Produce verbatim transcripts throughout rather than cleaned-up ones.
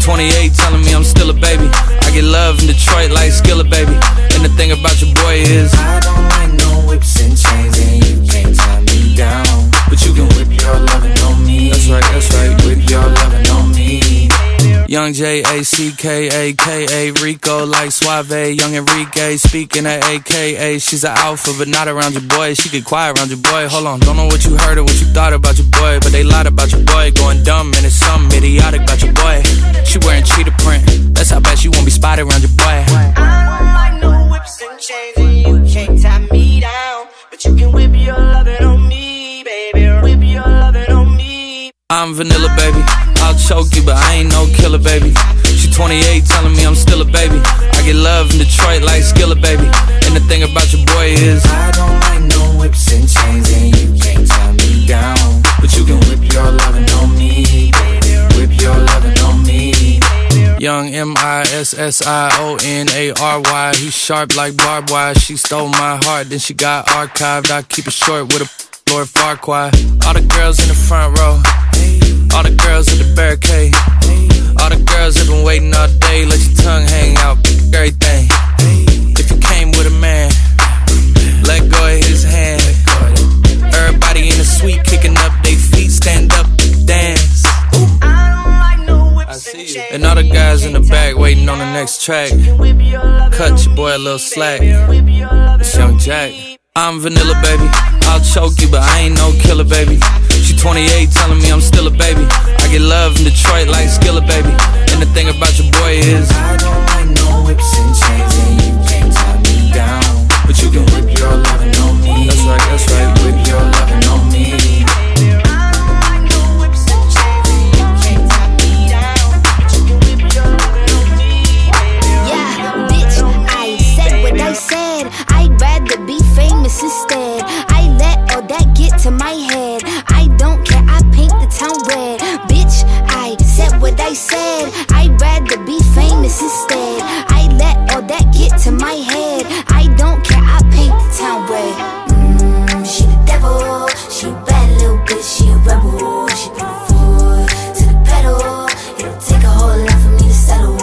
twenty-eight, telling me I'm still a baby. I get love in Detroit like Skillet, baby. And the thing about your boy is I don't like no whips and chains, and you can't tie me down. But you can whip your lovin' on me. That's right, that's right. Whip your lovin' on me. Young J A C K A K A Rico like Suave. Young Enrique speaking at A K A. She's an alpha but not around your boy. She get quiet around your boy. Hold on, don't know what you heard or what you thought about your boy, but they lied about your boy. Going dumb and it's something idiotic about your boy. She wearing cheetah print. That's how bad she won't be spotted around your boy. I don't like no whips and chains, and you can't tie me down. But you can whip your lovin' on me, baby. Whip your lovin' on me. I'm vanilla, baby. I'll choke you, but I ain't no killer, baby. She twenty-eight, telling me I'm still a baby. I get love in Detroit like Skillet, baby. And the thing about your boy is I don't like no whips and chains, and you can't tie me down. But you can whip your lovin' on me, baby. Whip your lovin' on me. Young M I S S I O N A R Y. He sharp like barbed wire. She stole my heart, then she got archived. I keep it short with a Lord Farquaad. All the girls in the front row, all the girls at the barricade, all the girls have been waiting all day. Let your tongue hang out, everything. If you came with a man, let go of his hand. Everybody in the suite kicking up their feet, stand up, dance. I see you. And all the guys in the back waiting on the next track. Cut your boy a little slack. It's Young Jack. I'm vanilla, baby. I'll choke you, but I ain't no killer, baby. She twenty-eight, telling me I'm still a baby. I get love in Detroit like Skillet, baby. And the thing about your boy is I don't like no whips and chains, and you can't tie me down. But you can whip your lovin' on me. That's right, that's right. Whip your lovin' on me. I said I'd rather be famous instead. I let all that get to my head. I don't care, I paint the town red. Bitch, I said what I said. I'd rather be famous instead. I let all that get to my head. I don't care, I paint the town red. Mmm, she the devil. She a bad little bitch, she a rebel. She put her foot to the pedal. It'll take a whole lot for me to settle.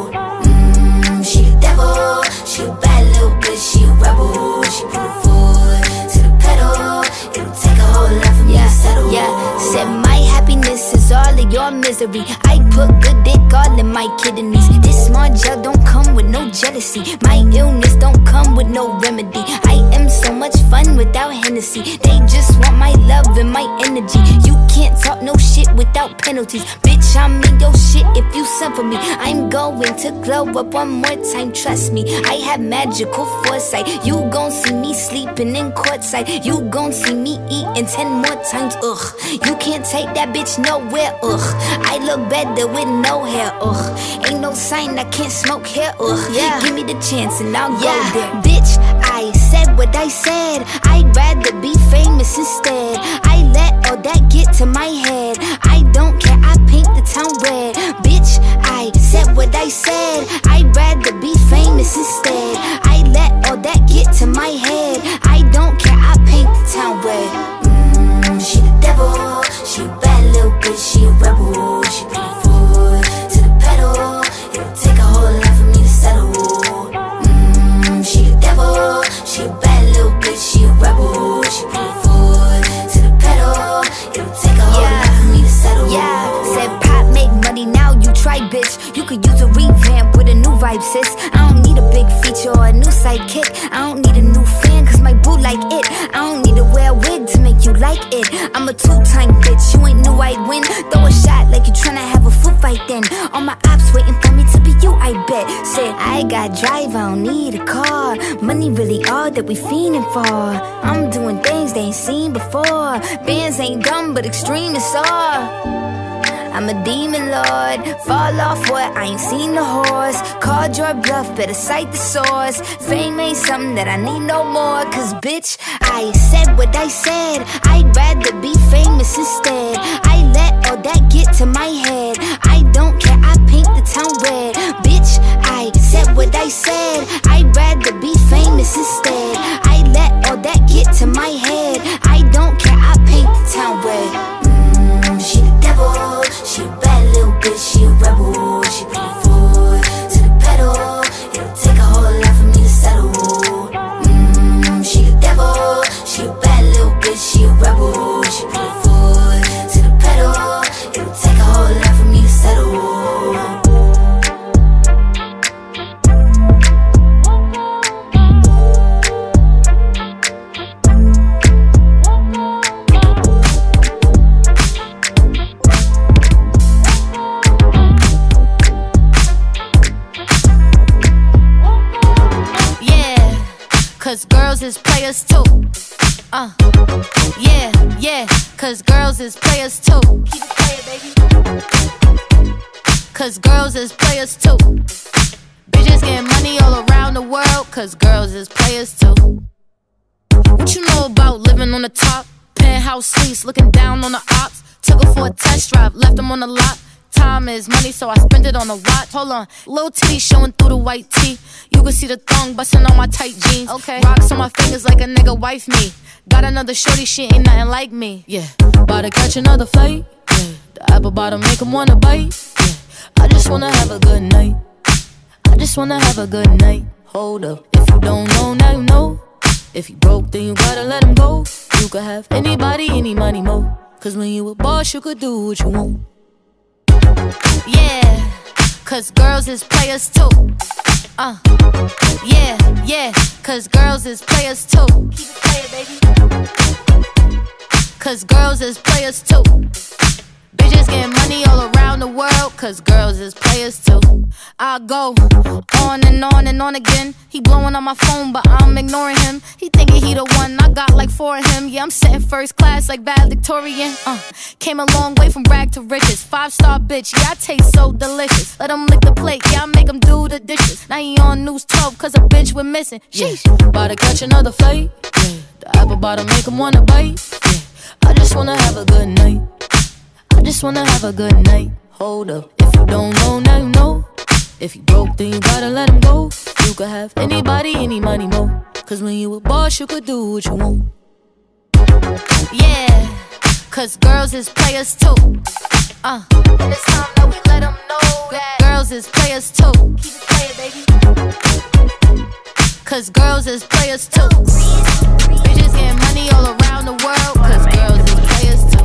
Mmm, she the devil. She a bad little bitch, she a rebel. She put her foot to the pedal. It'll take a whole lot for me yeah, to settle. Yeah, said my happiness is all of your misery. I put good dick all in my kidneys. This small gel don't come with no jealousy. My illness don't come with no remedy. I am so much fun without Hennessy. They just want my love and my energy. You can't talk no shit without penalties. Bitch, I'm in your shit if you send for me. I'm going to glow up one more time, trust me. I have magical foresight. You gon' see me sleeping in courtside. You gon' see me eating ten more times, ugh. You can't take that bitch nowhere, ugh. I look better with no hair, ugh. Ain't no sign I can't smoke hair, ugh. Yeah. Give me the chance and I'll yeah. go there. Bitch, I said what I said. I'd rather be famous instead. I let all that get to my head. I don't care, I paint the town red. Bitch, I said what I said. I'd rather be famous instead. I let all that get to my head. I don't care, I paint the town red. Mmm, she the devil. She a bad little bitch, she a rebel. She put her foot to the pedal. It'll take a whole lot for me to settle. Mmm, she the devil. She a bad little bitch, she a rebel. She put her foot to the pedal. It'll take a whole yeah. lot for me to settle. Yeah, said pop make money, now you try, bitch. You could use a revamp with a new vibe, sis. I don't need a big feature or a new sidekick. I don't need a new fan, cause my boo like it. I don't need to wear a wig to make you like it. I'm a two-time bitch, you ain't knew I'd win. Throw a shot like you tryna have a foot fight then. All my ops waiting for me to be you, I bet. Said I got drive, I don't need a car. Money really all that we fiending for. I'm doing things they ain't seen before. Bands ain't dumb, but extreme is all. I'm a demon lord, fall off what, I ain't seen the horse. Called your bluff, better cite the source. Fame ain't something that I need no more. Cause bitch, I said what I said. I'd rather be famous instead. I let all that get to my head. I don't care, I paint the town red. Bitch, I said what I said. I'd rather be famous instead. I let all that get to my head. I don't care, I paint the town red. Mmm, she the devil. She a bad little bitch, she a rebel. She cause girls is players too. Uh, yeah, yeah, cause girls is players too. Keep it playing, baby. Cause girls is players too. Bitches getting money all around the world, cause girls is players too. What you know about living on the top? Penthouse suites, looking down on the ops. Took her for a test drive, left them on the lot. Time is money, so I spend it on a watch. Hold on, little titty showing through the white tee. You can see the thong busting on my tight jeans. Okay, rocks on my fingers like a nigga wife me. Got another shorty, she ain't nothing like me. Yeah, about to catch another flight. Yeah, the apple bottom make him wanna bite. Yeah, I just wanna have a good night. I just wanna have a good night. Hold up, if you don't know, now you know. If you broke, then you gotta let him go. You could have anybody, any money, mo. Cause when you a boss, you could do what you want. Yeah, cause girls is players too. Uh, yeah, yeah, cause girls is players too. Keep it playing, baby. Cause girls is players too. Bitches getting money all around the world, cause girls is players too. I go on and on and on again. He blowing on my phone, but I'm ignoring him. He thinking he the one, I got like four of him. Yeah, I'm sitting first class like valedictorian. Uh, came a long way from rag to riches. Five star bitch, yeah, I taste so delicious. Let him lick the plate, yeah, I make him do the dishes. Now he on news twelve, cause a bitch went missing. Sheesh, yeah. About to catch another flight. Yeah, the apple bottom make him wanna bite. Yeah, I just wanna have a good night. I just wanna have a good night. Hold up, if you don't know, now you know. If you broke, then you gotta let him go. You could have anybody, any money, mo. Cause when you a boss, you could do what you want. Yeah, cause girls is players too. Uh, and it's time that we let them know that girls is players too. Keep it playing, baby. Cause girls is players too. Bitches getting money all around the world, cause girls is players too.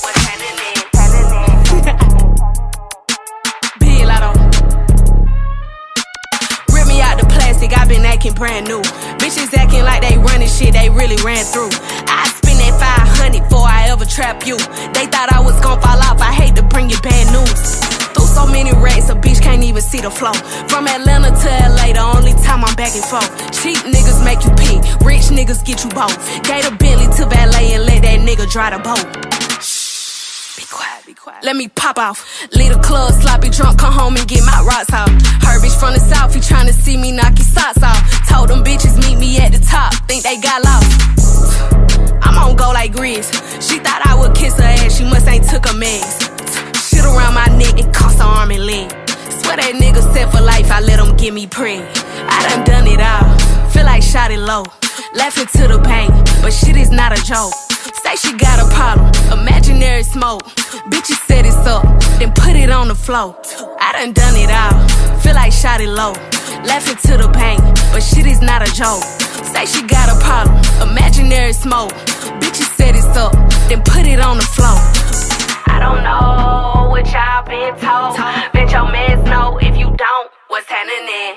I been acting brand new. Bitches acting like they running shit they really ran through. I spend that five hundred before I ever trap you. They thought I was gon' fall off, I hate to bring you bad news. Through so many racks, a bitch can't even see the flow. From Atlanta to L A, the only time I'm back and forth. Cheap niggas make you pee, rich niggas get you both. Gave a Bentley to valet and let that nigga dry the boat. Be quiet, be quiet. Let me pop off. Leave the club, sloppy drunk, come home and get my rocks off. Her bitch from the south, he tryna see me knock his socks off. Told them bitches meet me at the top, think they got lost. I'm on go like Grizz. She thought I would kiss her ass, she must ain't took her meds. Shit around my neck, it cost her arm and leg. Swear that nigga set for life, I let him get me preg. I done done it all, feel like shot it low. Laughing to the pain, but shit is not a joke. Say she got a problem, imaginary smoke. Bitches set it up, then put it on the floor. I done done it all, feel like shot it low. Laughing to the pain, but shit is not a joke. Say she got a problem, imaginary smoke. Bitches set it up, then put it on the floor. I don't know what y'all been told. Bet your mans know if you don't, what's happening?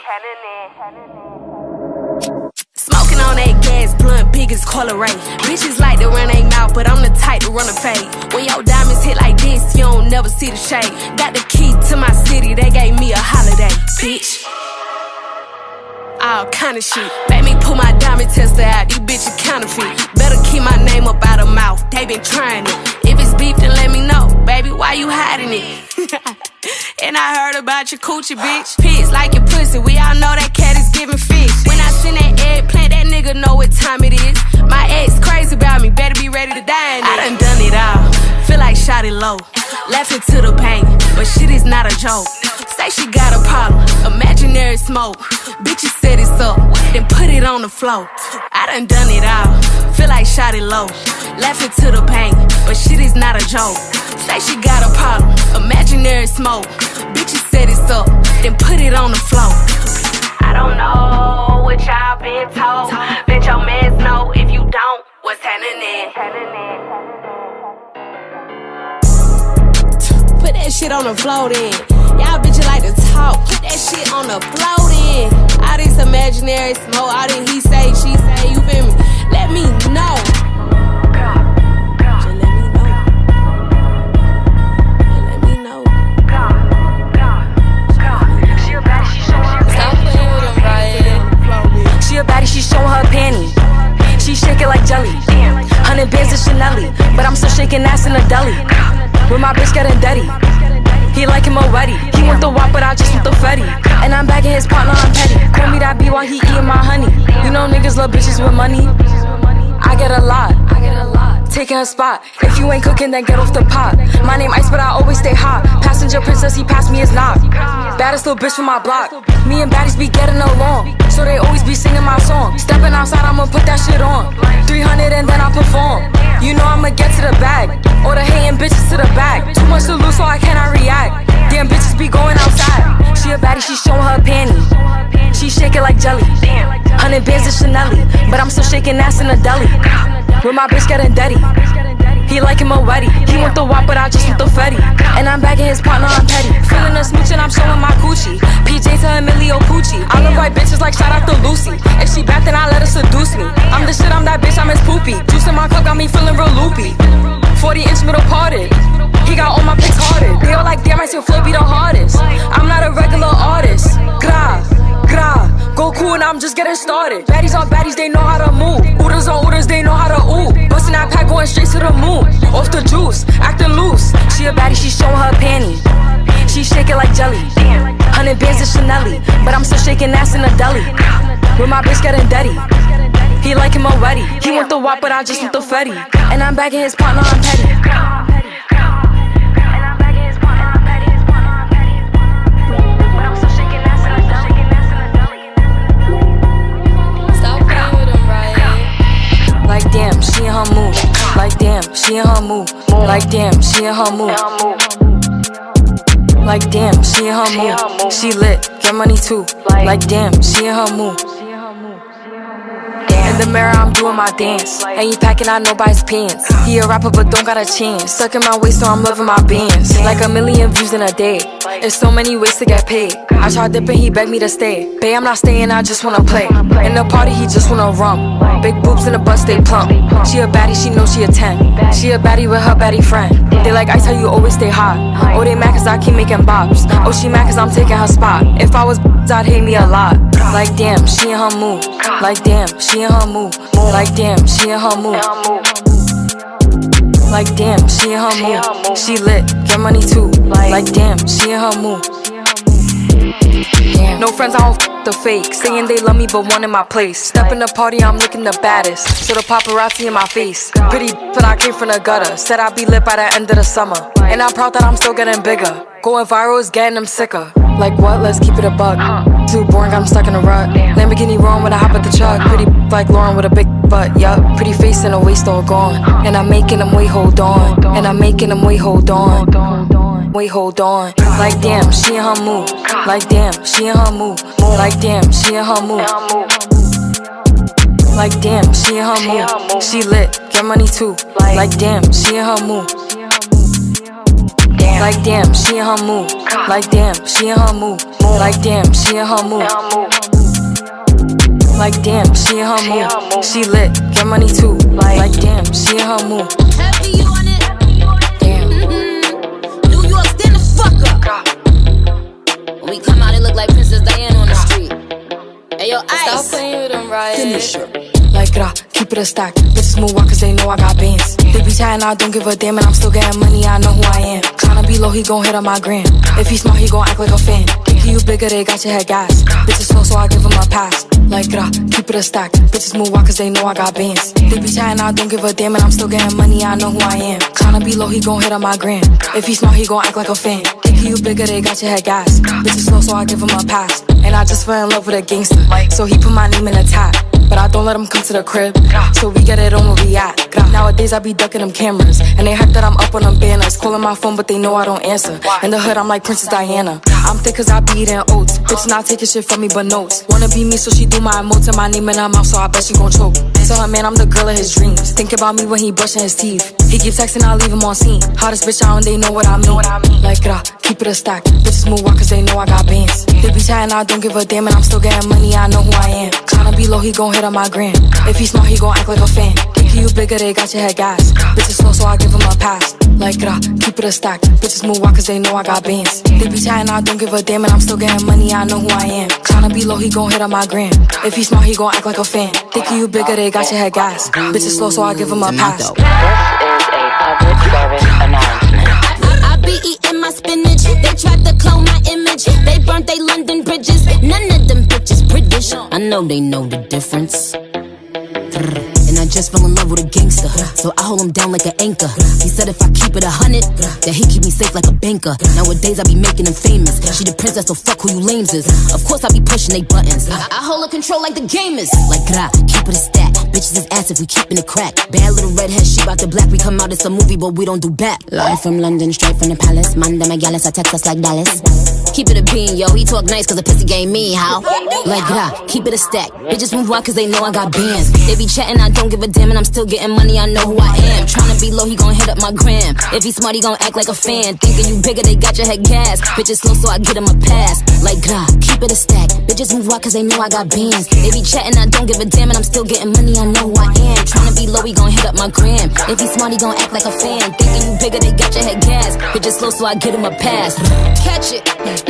Smoking on that gas, blunt, big as Colorado. Bitches like to run they mouth, but I'm the type to run a fade. When your diamonds hit like this, you don't never see the shade. Got the key to my city, they gave me a holiday, bitch. All kind of shit. Made me pull my diamond tester out, these bitches counterfeit. Better keep my name up out of mouth, they been trying it. If it's beef, then let me know, baby, why you hiding it? And I heard about your coochie, bitch. Pigs like your pussy, we all know that cat is giving fish. When I send that eggplant, that nigga know what time it is. My ex crazy about me, better be ready to die in it. I done done it all, feel like shot it low. Laughing to the pain, but shit is not a joke. Say she got a problem, imaginary smoke. Bitches set it up, then put it on the floor. I done done it all, feel like shot it low. Laughing to the pain, but shit is not a joke. Say she got a problem, imaginary smoke. Bitches set it up, then put it on the floor. I don't know what y'all been told. Bet your mans know if you don't, what's happening? Put that shit on the floor then. Y'all bitches like to talk, put that shit on the floor then. All this imaginary smoke, all this he say, she say, you feel me? Let me know. Just let me know. Just let me know. She a baddie, she showing her panties. shaking ass in the deli. With my bitch getting dirty. He like him already. He want the wop, but I just want the fetty. And I'm bagging his partner, I'm petty. Call me that B while he eating my honey. You know niggas love bitches with money. I get a lot. I get a lot. Taking a spot. If you ain't cooking, then get off the pot. My name Ice, but I always stay hot. Passenger princess, he passed me his knock. Baddest little bitch from my block. Me and baddies be getting along, so they always be singing my song. Stepping outside, I'ma put that shit on. three hundred and then I perform. You know I'ma get to the bag. All the hating bitches to the back. Too much to lose, so I cannot react. Damn bitches be going outside. She a baddie, she showing her panty. She shake it like jelly. Hundred bands of Chanel, but I'm still shaking ass in the deli. With my bitch getting dirty. He like him already. He want the wop, but I just want the fetty. And I'm bagging his partner, I'm petty. Feeling a smooch and I'm showing my coochie. P J to Emilio Pucci. I love white bitches like shout out to Lucy. If she bad, then I let her seduce me. I'm the shit, I'm that bitch, I'm his poopy. Juice in my cup got me feeling real loopy. forty inch middle parted. He got all my pics hearted. They all like, damn, I still flow be the hardest. I'm not a regular artist. Gra, gra, go cool and I'm just getting started. Baddies on baddies, they know how to move. Ooders on ooders, they know how to ooh. Bustin' that pack going straight to the moon. Off the juice, acting loose. She a baddie, she showing her panty. She shake it like jelly. Hundred bands of Chanel, but I'm still shaking ass in the deli. With my bitch getting dirty. He like him already. He want the wop, but I just want the fetty. And I'm bagging his partner, I'm petty. Like damn, she in her mood. Like damn, she in her mood. Like damn, she in her mood. Like damn, she in her mood. She lit, get money too. Like damn, she in her mood. In the mirror, I'm doing my dance. Ain't he packing out nobody's pants. He a rapper, but don't got a chance. Stuck in my waist, so I'm loving my bands. Like a million views in a day. There's so many ways to get paid. I tried dipping, he begged me to stay. Babe, I'm not staying, I just wanna play. In the party, he just wanna rum. Big boobs in the bus, they plump. She a baddie, she knows she a ten. She a baddie with her baddie friend. They like ice, how you always stay hot. Oh, they mad cause I keep making bops. Oh, she mad cause I'm taking her spot. If I was I'd hate me a lot. Like damn, she in her mood. Like damn, she in her mood. Like damn, she in her mood. Like damn, she in her mood. She lit, get money too. Like damn, she in her mood. No friends, I don't f the fake. Saying they love me but one in my place. Step in the party, I'm looking the baddest. So the paparazzi in my face. Pretty but I came from the gutter. Said I'd be lit by the end of the summer. And I'm proud that I'm still getting bigger. Going viral is getting them sicker. Like what? Let's keep it a buck. Too boring, I'm stuck in a rut. Lamborghini wrong when I hop at the truck. Pretty like Lauren with a big butt, yup. Pretty face and a waist all gone. And I'm making them wait, hold on. And I'm making them wait, hold on. Wait, hold on. Like damn, she in her mood. Like damn, she in her mood. Like damn, she in her mood. Like damn, she in her mood. She lit, get money too. Like damn, she in her mood. Like damn, she in her mood. Like damn, she in her mood. Like damn, she in her mood. Like damn, she in her mood. She lit, get money too. Like damn, she in her mood. Happy you on it. Damn. Mm-hmm. New York, stand the fuck up. When we come out, it look like Princess Diana on the street. Hey yo, Ice. Stop playing with them, right? Finish her. Like gra, keep it a stack. Bitches move walk cause they know I got bands. They be chatting, I don't give a damn, and I'm still getting money, I know who I am. Tryna be low, he gon' hit on my gram. If he smart, he gon' act like a fan. Thinking you bigger, they got your head gas. Bitches slow, so I give him a pass. Like gra, keep it a stack. Bitches move walk cause they know I got bands. They be chatting, I don't give a damn, and I'm still getting money, I know who I am. Tryna be low, he gon' hit on my gram. If he smart, he gon' act like a fan. Thinking you bigger, they got your head gas. Bitches slow, so I give him a pass. And I just fell in love with a gangster, so he put my name in the tag. But I don't let him come to the crib, so we get it on where we at. Nowadays I be ducking them cameras, and they hype that I'm up on them banners. Calling my phone but they know I don't answer. In the hood I'm like Princess Diana. I'm thick cause I be eating oats. Bitch not taking shit from me but notes. Wanna be me so she do my emotes and my name in her mouth, so I bet she gon' choke. Tell her man I'm the girl of his dreams. Think about me when he brushing his teeth. He keep texting, I leave him on scene. Hottest bitch out and they know what I mean. Like gra, keep it a stack. Bitches move walk cause they know I got bands. They be chatting, I don't give a damn, and I'm still getting money, I know who I am. Tryna be low, he gon' hit on my gram. If he smart, he gon' act like a fan. Thinking you bigger, they got your head gas. Bitches slow, so I give him a pass. Like gra, keep it a stack. Bitches move walk cause they know I got bands. They be chatting, I don't give a damn, and I'm still getting money, I know who I am. Tryna be low, he gon' hit on my gram. If he smart, he gon' act like a fan. Thinking you bigger, they got your head gas. Bitches slow, so I give him a pass. This is a public They tried to clone my image. They burnt they London bridges. None of them bitches British. I know they know the difference. And I just fell in love with a gangster, so I hold him down like an anchor. He said if I keep it a hundred, that he keep me safe like a banker. Nowadays I be making him famous. She the princess, so fuck who you lames is. Of course I be pushing they buttons. I, I hold her control like the gamers. Like gra, keep it a stack. Bitches is ass if we keepin' it crack. Bad little redhead, she bout the black. We come out, it's a movie, but we don't do back. Live from London, straight from the palace. Manda Magalis, I text us like Dallas. Keep it a bean, yo. He talk nice cause the pussy game me, how? Like gra, keep it a stack. Bitches move out cause they know I got bands. They be chatting, I don't give a damn, and I'm still getting money, I know who I am. Tryna be low, he gon' hit up my gram. If he smart, he gon' act like a fan. Thinking you bigger, they got your head gas. Bitches slow, so I get him a pass. Like gra, keep it a stack. Bitches move out cause they know I got bands. They be chatting, I don't give a damn, and I'm still getting money, I know who I am. Tryna be low, he gon' hit up my gram. If he smart, he gon' act like a fan. Thinking you bigger, they got your head gas. Bitches slow, so I get him a pass. Catch it.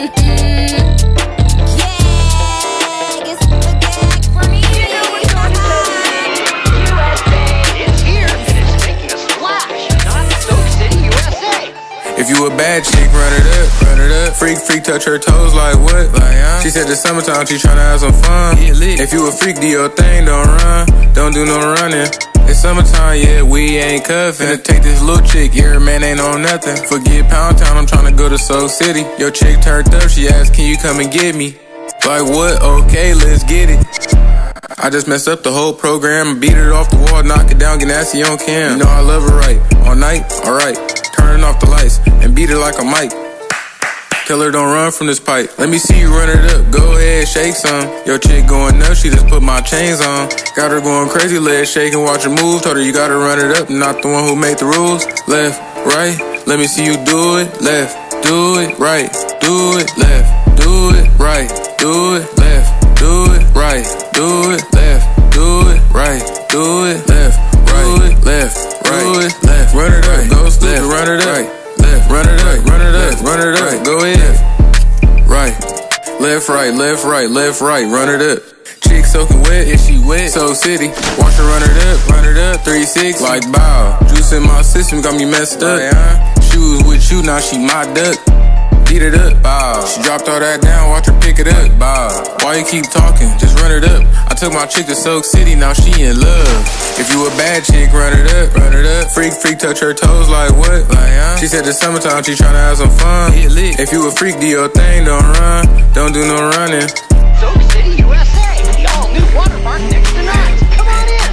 If you a bad chick, run it up, run it up. Freak, freak, touch her toes like what? Like, huh? She said the summertime, she tryna have some fun. Get lit. If you a freak, do your thing, don't run. Don't do no running. It's summertime, yeah, we ain't cuffin'. Finna take this little chick, yeah, man ain't on nothing. Forget Pound Town, I'm tryna go to Soul City. Your chick turned up, she asked, can you come and get me? Like what? Okay, let's get it. I just messed up the whole program. Beat it off the wall, knock it down, get nasty on cam. You know I love her right. All night, alright. Turning off the lights and beat it like a mic. Tell her don't run from this pipe. Let me see you run it up. Go ahead, shake some. Your chick going nuts, she just put my chains on. Got her going crazy, legs shaking, watch her move. Told her you gotta run it up, not the one who made the rules. Left, right, let me see you do it. Left, do it, right, do it, left, do it, right, do it, left, do it, right, do it, left, do it, right, do it, left, right, left, right, left, run it up, go stupid, run it up, left, run it up, run it up, run it up, go ahead, right, left, right, left, right, left, right, run it up. Chick soaking wet, if she wet, Soul City. Watch her run it up, run it up, three sixty. Like bow, juice in my system got me messed up. She was with you, now she my duck. Beat it up, bow. She dropped all that down, watch her pick it up, bow. Why you keep talking? Just run it up. I took my chick to Soak City, now she in love. If you a bad chick, run it up, run it up. Freak, freak, touch her toes like what? Like, huh? She said the summertime, she tryna have some fun. Get lit. If you a freak, do your thing, don't run. Don't do no running. Soak City, U S A, the all-new water park next to Knott's. Come on in.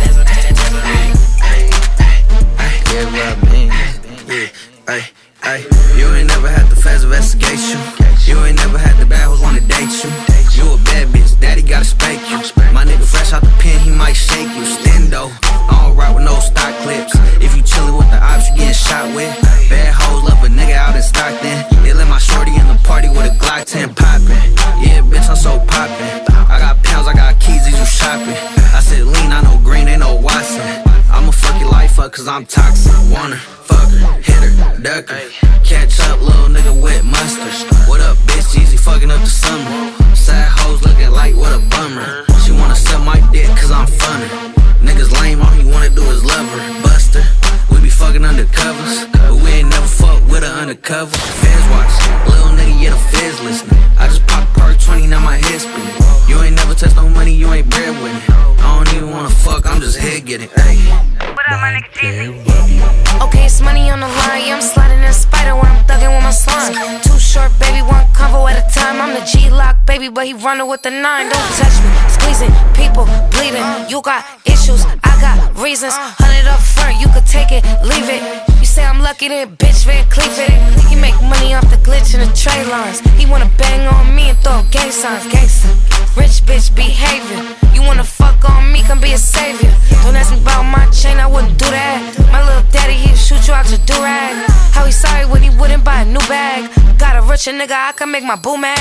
Yeah, what I mean. Yeah, ay. Ay, you ain't never had the fast investigation. You ain't never had the bad hoes wanna date you. You a bad bitch, daddy gotta spank you. My nigga fresh out the pen, he might shake you. Stendo, I don't ride with no stock clips. If you chillin' with the ops, you getting shot with. Bad hoes love a nigga out in Stockton. They let my shorty in the party with a Glock ten poppin'. Yeah, bitch, I'm so poppin'. I got pounds, I got keys, these you shopping. I said lean, I know green, they know Watson. I'ma fuck your life up cause I'm toxic. Wanna fuck her, hit her, duck her. Catch up, little nigga with mustard. What up, bitch? Easy fucking up the summer. Sad hoes looking like what a bummer. She wanna suck my dick cause I'm funny. Niggas lame, all he wanna do is love her. Buster, we be fucking undercovers, but we ain't never fuck with her undercover. Feds watch, little nigga, yeah, the feds listening. I just popped perk twenty, now my head spinning. You ain't never touched no money, you ain't bread with it. I don't even wanna fuck, I'm just head getting. What up, my nigga Jeezy? Okay, it's money on the line. Yeah, I'm sliding in a spider when I'm thugging with my slime. Too short, baby, one convo at a time. I'm the G-Lock, baby, but he running with the nine. Don't touch me, squeezing, people bleeding. You got issues, I got reasons. Hundred up front, you could take it, leave it. You say I'm lucky, then bitch, Van Cleef it. He make money off the glitch in the tray lines. He wanna bang on me and throw gang signs, gangsta. Rich bitch behavior. You wanna fuck on me, come be a savior. Don't ask me about my chain, I wouldn't do that. My little daddy, he'd shoot you out your do-rag. How he sorry when he wouldn't buy a new bag. Got a richer nigga, I can make my boo mad.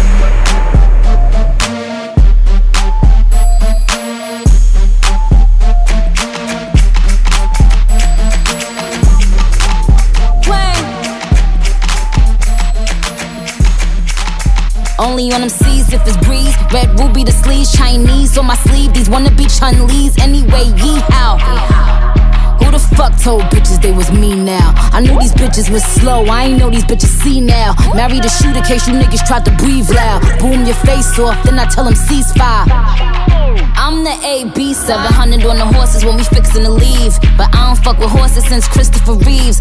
Only on them C's if it's breeze. Red ruby the sleeves, Chinese on my sleeve. These wanna be Chun-Li's anyway, yee how. Who the fuck told bitches they was me now? I knew these bitches was slow, I ain't know these bitches see now. Marry the shooter case you niggas tried to breathe loud. Boom your face off, then I tell them ceasefire. I'm the A B, seven hundred on the horses when we fixin' to leave. But I don't fuck with horses since Christopher Reeves.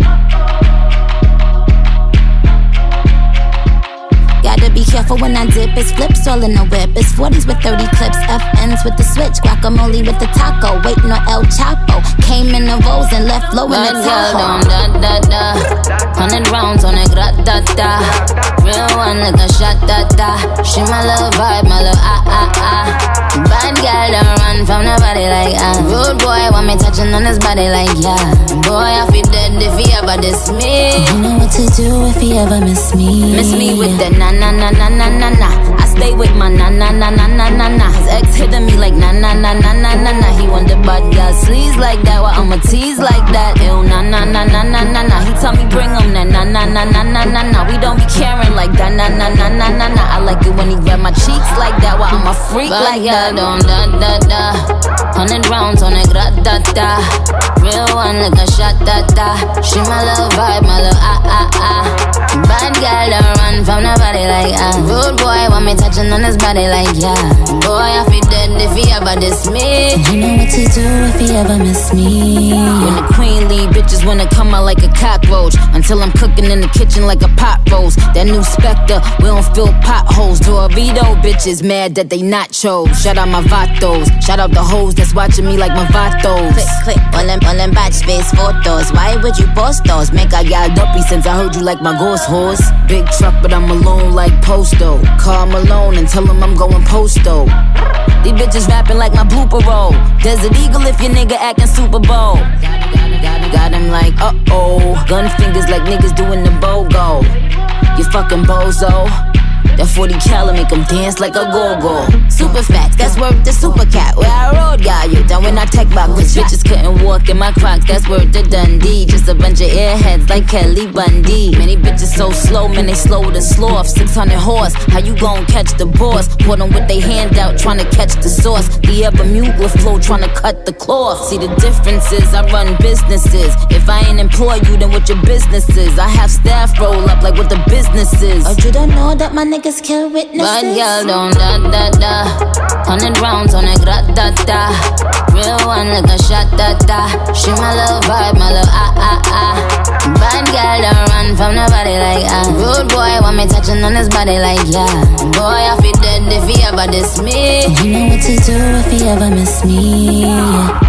Gotta be careful when I dip, it's flips all in the whip. It's forties with thirty clips, F Ns with the switch. Guacamole with the taco, waiting on El Chapo. Came in the Rolls and left low in the Tahoe. Da da da, hundred rounds on a grat-da-da. Real one like a shot-da-da. She my little vibe, my little ah-ah-ah. Bad girl don't run from nobody like ah. Rude boy want me touching on his body like yeah. Boy I feel dead if he ever diss me. You know what to do if he ever miss me. Miss me with the na na na na na na na. I stay with my na na na na na na na. His ex hitting me like na na na na na na na. He want the bad girl sleaze like that, while I'ma tease like that. Ew na na na na na na na. He tell me bring him na na na na na na na na. We don't be caring like that na na na na na na. I like it when he grab my cheeks like that, while I'm a freak bad like that. Don't da da da. Hundred rounds on a grat-da-da. Real one like a shot-da-da. She my little vibe, my little ah-ah-ah. Bad girl don't run from nobody like ah. Rude boy want me touching on his body like yeah. Boy I feel dead if he ever diss me. You know what to do if he ever miss me. When the queen leave, bitches wanna come out like a cockroach. Until I'm cooking in the kitchen like a pot roast. That new Spectre, we don't fill potholes. Dorito bitches mad that they nachos. Shout out my vatos, shout out the hoes that's watching me like my vatos. Click, click, all them, all them batch space photos. Why would you post those? Make I got dumpy since I heard you like my ghost horse. Big truck but I'm alone like Posto. Call Malone and tell him I'm going posto. These bitches rapping like my blooper roll. Desert Eagle if your nigga acting Super Bowl. Got, got, got, got him like uh-oh. Gun fingers like niggas doing the BOGO. You fucking bozo. That forty cal make him dance like a go-go. Super facts, that's worth the super cat. Where I rode, got you down when I tech back. Which bitches couldn't walk in my Crocs, that's worth the Dundee. Just a bunch of airheads like Kelly Bundy. Many bitches so slow, man, they slower than sloth. six hundred horse, how you gon' catch the boss? Put them with they hand out, trying to catch the sauce. The ever Mugler flow, trying to cut the cloth. See the differences, I run businesses. If I ain't employ you, then what your business is? I have staff roll up like what the business is. Oh, you don't know that my nigga kill witnesses. Bad girl don't da da da. Hundred rounds on a grat-da-da. Real one like a shot-da-da. She my little vibe, my little ah-ah-ah. Bad girl don't run from nobody like ah. Rude boy want me touching on his body like yeah. Boy I feel dead if he ever diss me. You know what to do if he ever miss me, yeah.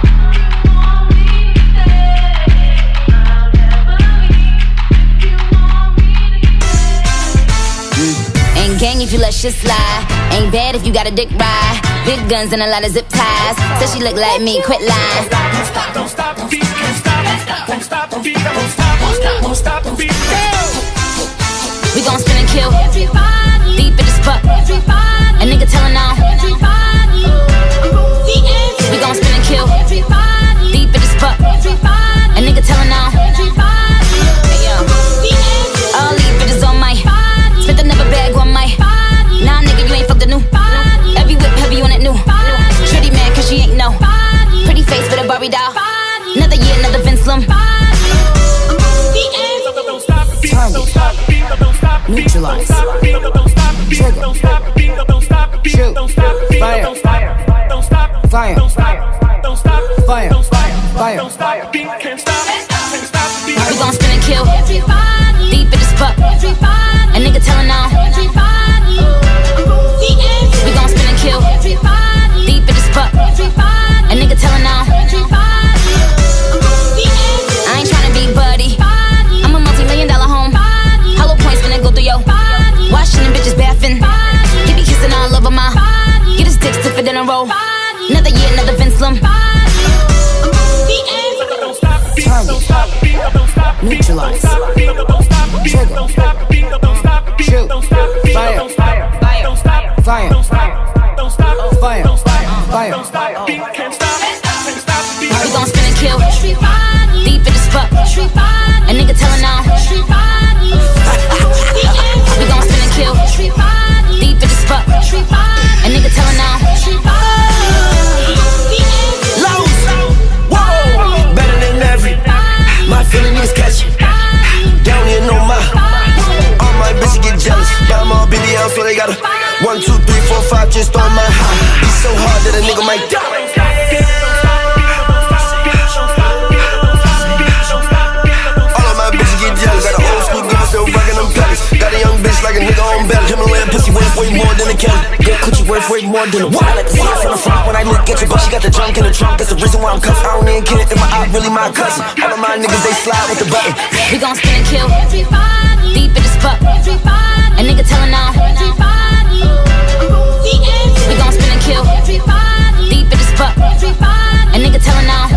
Gang if you let shit slide. Ain't bad if you got a dick ride. Big guns and a lot of zip ties. Said she look like me, quit lying. Don't stop, don't stop the beat, can't stop. Won't stop the beat, won't stop, won't stop, won't stop the beat. We gon' spin and kill. Deep in the spot. A nigga tellin' on. We gon' spin and kill. Deep in the spot. A nigga tellin' on. Hey yo. All these bitches on my. Spent another bag on my. Nah, nigga, you ain't fucked the new. Every whip heavy on that new. Shitty man, cause she ain't no. Pretty face with a Barbie doll. Another year, another Vince Lum. Target. Neutralize. Trigger. Shoot. Fire. Fire. Fire. Fire. Fire. We gon' spin and kill. Deep in the spot. A nigga tellin' on. We gon' spin and kill. Deep in the spot. A nigga tellin' on. I ain't tryna be buddy. I'm a multi-million dollar home. Hollow points finna go through yo. Washing them bitches bathing. He be kissing all over my. Get his dick stiffer than a roll. Another year, another Vince Lum. Target. Neutralize. Trigger. Shoot. Fire. Fire. Fire. Fire. Fire. We gon' spin and kill. Deep in the spot. A nigga tellin' on. We gon' spin and kill. Deep in the spot. A nigga tellin' on. Lows. Whoa. worth way more than a what? I like to see it from the front when I look at you, but she got the junk in the trunk. That's the reason why I'm cuffed. I don't even get it if my eye really my cousin. All of my niggas, they slide with the button. We gon' spin and kill. Deep in the spot. A nigga tellin' now. We gon' spin and kill. Deep in the spot. A nigga tellin' now.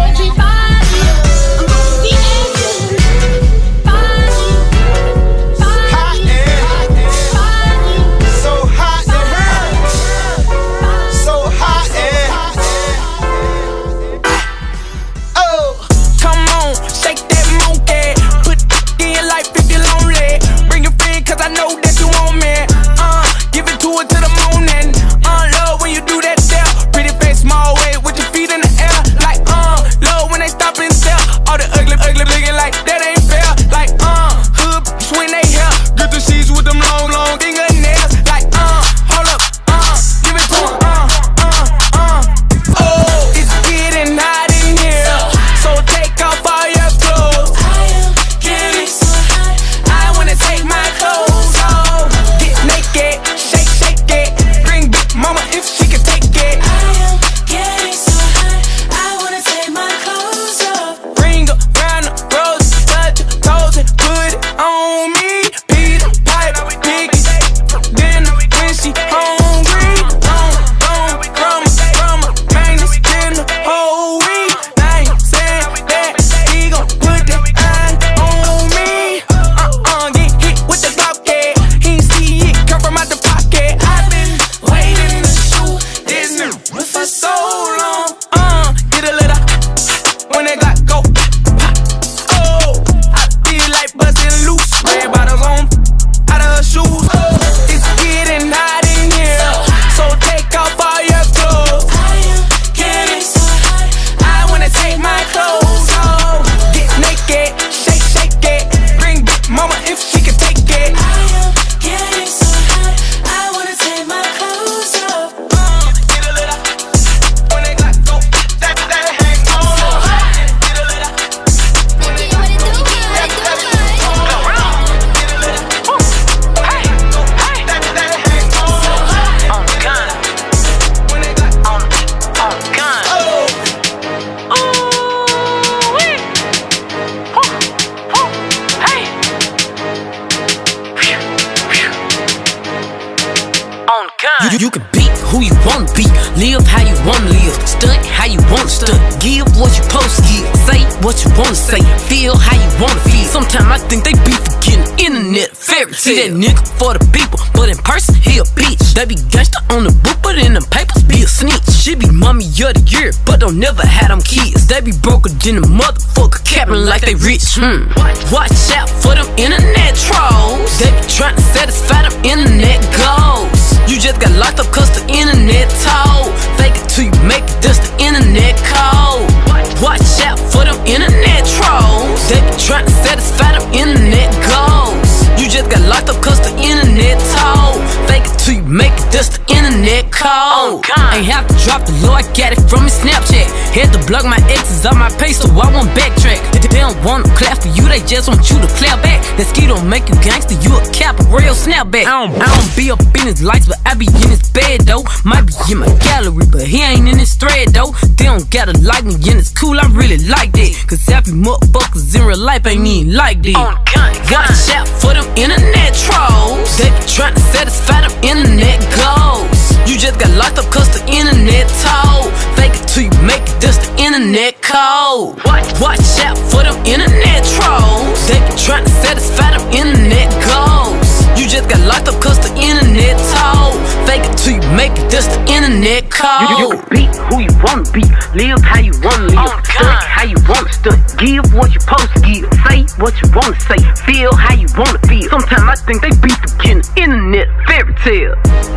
You, you can be who you wanna be, live how you wanna live, stunt how you wanna stunt, give what you supposed to give, say what you wanna say, feel how you wanna feel. Sometimes I think they be forgetting internet fairy tale. See that nigga for the people, but in person he a bitch. They be gangsta on the book, but in them papers be a snitch. She be mommy of the year, but don't never have them kids. They be broker than a motherfucker, capping like they rich. Hmm. Watch out for them internet trolls. They be trying to satisfy them internet goals. You just got locked up cause the internet told. Fake it till you make it, that's the internet code. Watch out for them internet trolls. They be trying to satisfy them internet goals. You just got locked up cause the internet told. Fake it till you make it, that's the internet code. Ain't have to drop the low, I got it from his Snapchat. Had to block my exes on my page so I won't backtrack. They don't wanna clap for you, they just want you to clap back. That ski don't make you gangster, you a cap, a real snapback. I don't, I don't be up in his lights, but I be in his bed though. Might be in my gallery, but he ain't in his thread though. They don't gotta like me and it's cool, I really like that. Cause happy motherfuckers in real life ain't even like that. Watch out for them internet trolls. They be trying to satisfy them internet goals. You just got locked up cause the internet told. Fake it till you make it, that's the internet code. Watch out for them internet trolls. They be trying to satisfy them internet goals. You just got locked up cause the internet told. Fake it till you make it, that's the internet code. You, you can be who you wanna be, live how you wanna live, oh, stunt how you wanna stunt, give what you supposed to give, say what you wanna say, feel how you wanna feel. Sometimes I think they be forgetting internet fairy tale.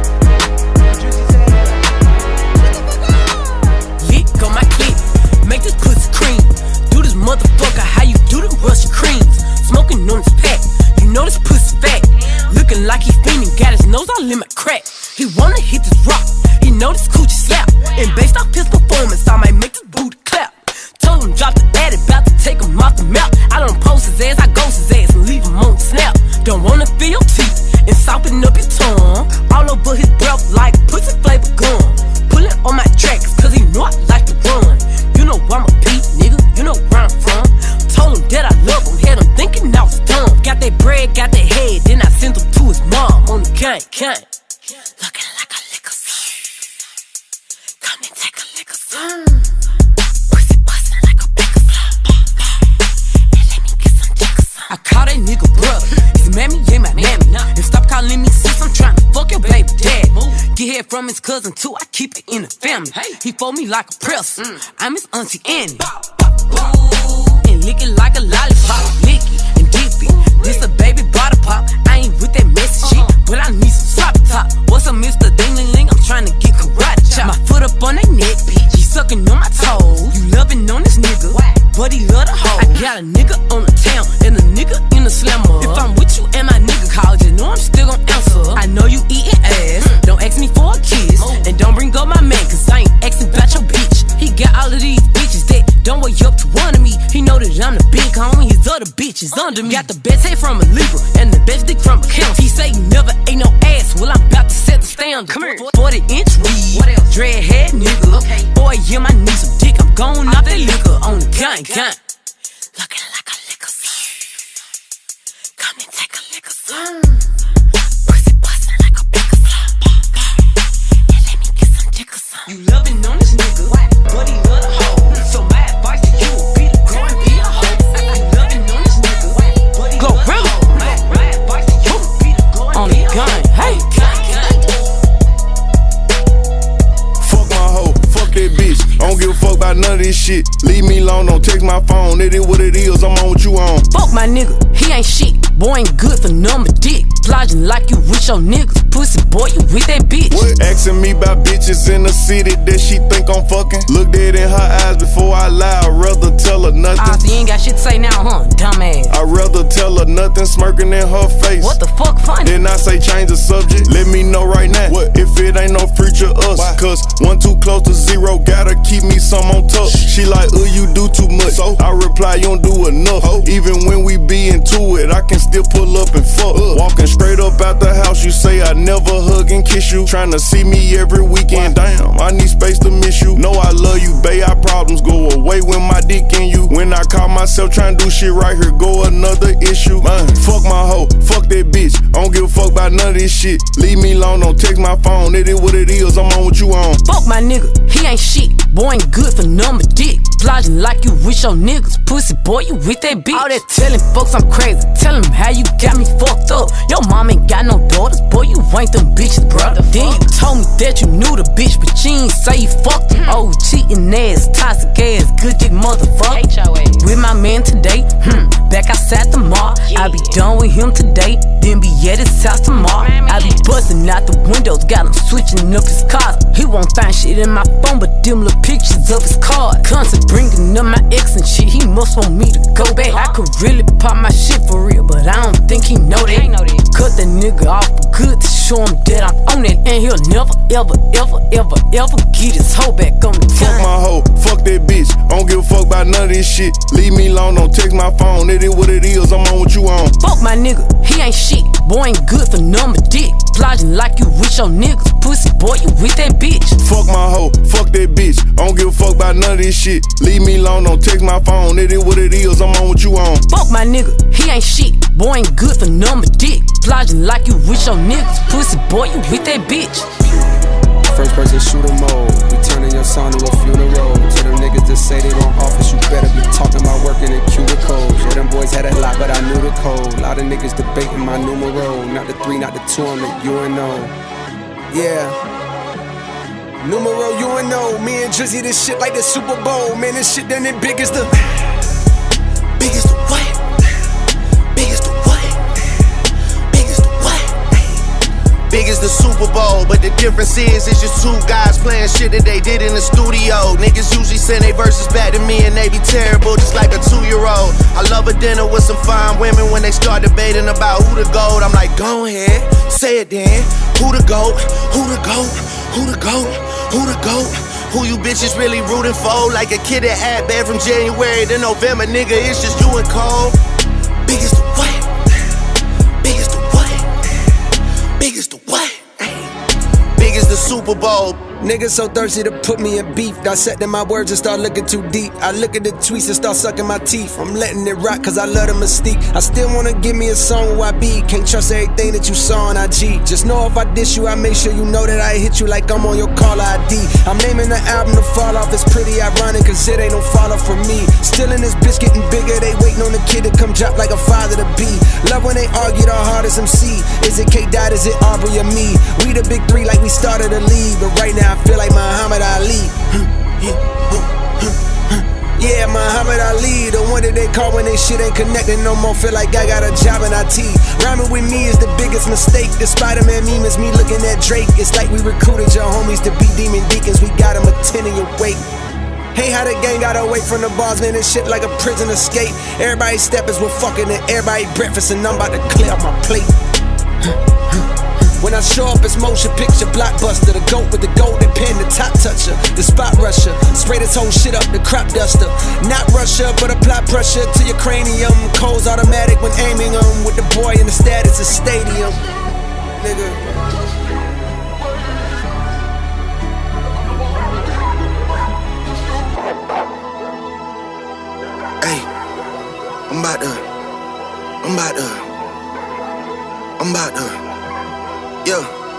Lick on my clip, make this pussy cream. Do this motherfucker how you do them Russian creams. Smoking on this pack, you know this pussy fat. Looking like he fiending, got his nose all in my crack. He wanna hit this rock, he know this coochie slap. And based off his performance, I might make this booty clap. Told him drop the ad, about to take him off the map. I don't post his ass, I ghost his ass and leave him on the snap. Don't wanna feel your teeth and soften up your tongue. All over his breath like pussy flavor hear from his cousin too. I keep it in the family. He fold me like a press. I'm his auntie Annie. And lick it like a lollipop. Licky and dippy. This a baby bottle pop. I ain't with that messy shit, but I need some sloppy top. What's up, Mister Ding-ling-ling? I'm trying to get karate chop. My foot up on that neck, bitch. He sucking on my toes. You loving on this nigga, but he love the hoe. I got a nigga on the town and a nigga in the slammer. If I'm with you and my nigga call, you know I'm still gon' answer. I know you eating ass. Don't ask me for a kiss, and don't bring up my man, cause I ain't asking about your bitch. He got all of these bitches that don't wake up to one of me. He know that I'm the big homie, his other bitches under me. Got the best head from a Libra and the best dick from a Count. He say he never ate no ass, well I'm about to set the standard. Come here, forty inch weed, what else? Dread head nigga, okay. Boy, yeah, I need some dick, I'm going off that liquor on the gang, gang. Looking like a liquor slum. Come and take a liquor slum. Pussy bustin' like a bigger slum. And let me get some dick or something. You loving on this nigga, but he love the hoe. So my advice to you would be to go and be a hoe. You loving on this nigga, but he love the hoe. My advice to you would be to go and be a hoe. On the gun, hey. Fuck my hoe, fuck that bitch. I don't give a fuck about none of this shit. Leave me alone, don't text my phone. It is what it is, I'm on what you on. Fuck my nigga, he ain't shit. Boy ain't good for number dick. Plotting like you with your niggas. Pussy boy, you with that bitch. What? Asking me about bitches in the city that she think I'm fucking. Look dead in her eyes before I lie. I'd rather tell her nothing. Ah, so you ain't got shit to say now, huh? Dumbass. I'd rather tell her nothing, smirking in her face. What the fuck funny? Then I say change the subject. Let me know right now. What? If it ain't no future us. Why? Cause one too close to zero, gotta keep me some on top. She like, uh, you do too much. So I reply, you don't do enough. Oh. Even when we be into it, I can still pull up and fuck. Uh. Walking straight up out the house, you say I never hug and kiss you. Tryna see me every weekend, damn, I need space to miss you. Know I love you, babe, our problems go away when my dick in you. When I call myself tryna do shit right here, go another issue. Man, fuck my hoe, fuck that bitch. I don't give a fuck about none of this shit. Leave me alone, don't text my phone. It is what it is, I'm on what you on. Fuck my nigga, he ain't shit. Boy ain't good for number dick. Plotting like you with your niggas. Pussy boy, you with that bitch. All that telling folks I'm crazy. Tell them how you got me fucked up. Your mom ain't got no daughters, boy, you ain't them bitches, bro. Then you told me that you knew the bitch, but you ain't say you fucked her. Oh, cheating ass, toxic ass, good dick motherfucker. With my man today, hmm, back outside the mall. I be done with him today, then be at his house tomorrow. I be busting out the windows, got him switching up his cars. He won't find shit in my phone, but them little pictures of his card. Constant bringing up my ex and shit, he must want me to go back. I could really pop my shit for real, but I don't think he know that. Cut that nigga off good to show him that I'm on it, and he'll never, ever, ever, ever, ever get his hoe back on the Fuck my hoe, fuck that bitch. I don't give a fuck about none of this shit. Leave me alone, don't text my phone. It is what it is, I'm on what you on. Fuck my nigga, he ain't shit. Boy ain't good for number dick. Plotting like you with your niggas. Pussy boy, you with that bitch. Fuck my hoe, fuck that bitch. I don't give a fuck about none of this shit. Leave me alone, don't text my phone. It is what it is, I'm on what you on. Fuck my nigga, he ain't shit. Boy ain't good for number dick. Plotting like you with your niggas. Pussy boy, you with that bitch. First person shooter mode. We turning your son to a funeral. To them niggas that say they don't office, you better be talking about working in cubicles. Yeah, them boys had a lot, but I knew the code. A lot of niggas debating my numero. Not the three, not the two, I'm the U N O. Yeah. Numero U N O. Me and Drizzy, this shit like the Super Bowl. Man, this shit done it big as the. Big as the what? Big as the what? Big as the what? Big as the Super Bowl, but the difference is it's just two guys playing shit that they did in the studio. Niggas usually send their verses back to me and they be terrible, just like a two-year-old. I love a dinner with some fine women. When they start debating about who the GOAT, I'm like, go ahead, say it then. Who the GOAT? Who the GOAT? Who the GOAT? Who the GOAT? Who you bitches really rooting for? Like a kid that had bad from January to November, nigga, it's just you and Cole. Big as the what? Big as the what? Big as the what? Big as the Super Super Bowl. Niggas so thirsty to put me in beef. Dissecting my words and start looking too deep. I look at the tweets and start sucking my teeth. I'm letting it rock cause I love the mystique. I still wanna give me a song where I be. Can't trust everything that you saw on I G. Just know if I diss you, I make sure you know that I hit you like I'm on your caller I D. I'm naming the album to fall off. It's pretty ironic cause it ain't no fall off for me. Still in this bitch getting bigger. They waiting on the kid to come drop like a father to be. Love when they argue the hardest M C. Is it K-Dot, is it Aubrey or me? We the big three like we started a league. But right now I feel like Muhammad Ali. Yeah, Muhammad Ali, the one that they call when they shit ain't connected no more. Feel like I got a job in I T. Rhyming with me is the biggest mistake. The Spider-Man meme is me looking at Drake. It's like we recruited your homies to be demon deacons. We got them attending your wake. Hey, how the gang got away from the bars, man, and shit like a prison escape. Everybody steppers with fucking and everybody breakfast, and I'm about to clear up my plate. When I show up, it's motion picture blockbuster. The goat with the golden pen, the top toucher, the spot rusher. Spray this whole shit up, the crop duster. Not Russia, but apply pressure to your cranium. Codes automatic when aiming them. With the boy in the status of stadium. Nigga. Hey, I'm about to, I'm about to, I'm about to. Yeah,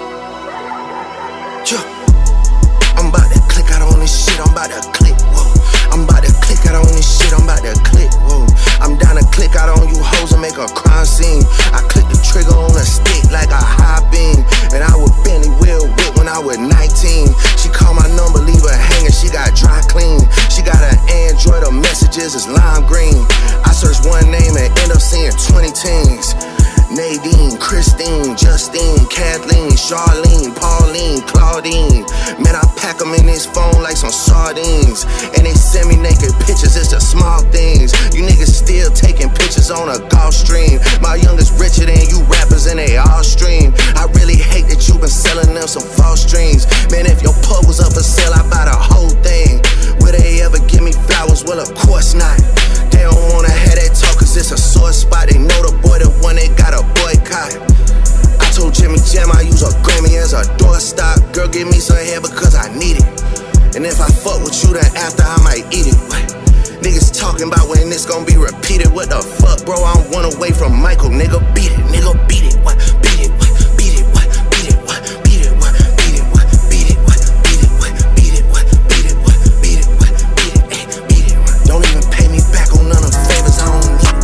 yeah. I'm about to click out on this shit, I'm about to click, whoa. I'm about to click out on this shit, I'm about to click, whoa. I'm down to click out on you hoes and make a crime scene. I click the trigger on a stick like a high beam. And I would Benny Will whip when I was nineteen. She called my number, leave her hanging, she got dry clean. She got an Android, her messages is lime green. I search one name and end up seeing twenty teens. Nadine, Christine, Justine, Kathleen, Charlene, Pauline, Claudine. Man, I pack them in this phone like some sardines. And they send me naked pictures, it's the small things. You niggas still taking pictures on a golf stream. My youngest richer than you rappers and they all stream. I really hate that you been selling them some false dreams. Man, if your pub was up for sale, I buy the whole thing. Will they ever give me flowers? Well, of course not. They don't wanna have that talk cause it's a sore spot. They know the boy, the one they got a boycott. I told Jimmy Jam I use a Grammy as a doorstop. Girl, give me some hair because I need it. And if I fuck with you, then after I might eat it. What? Niggas talking about when this gon' be repeated. What the fuck, bro? I'm one away from Michael. Nigga, beat it. Nigga, beat it. What? Beat it. What? Beat it. What? Beat it. What? Beat it. What? Beat it. What? Beat it. What? Beat it. What? Beat it. What? Beat it. What? Beat it. What? Beat it. Ay, beat it. What? Don't even pay me back on none of the favors I don't need.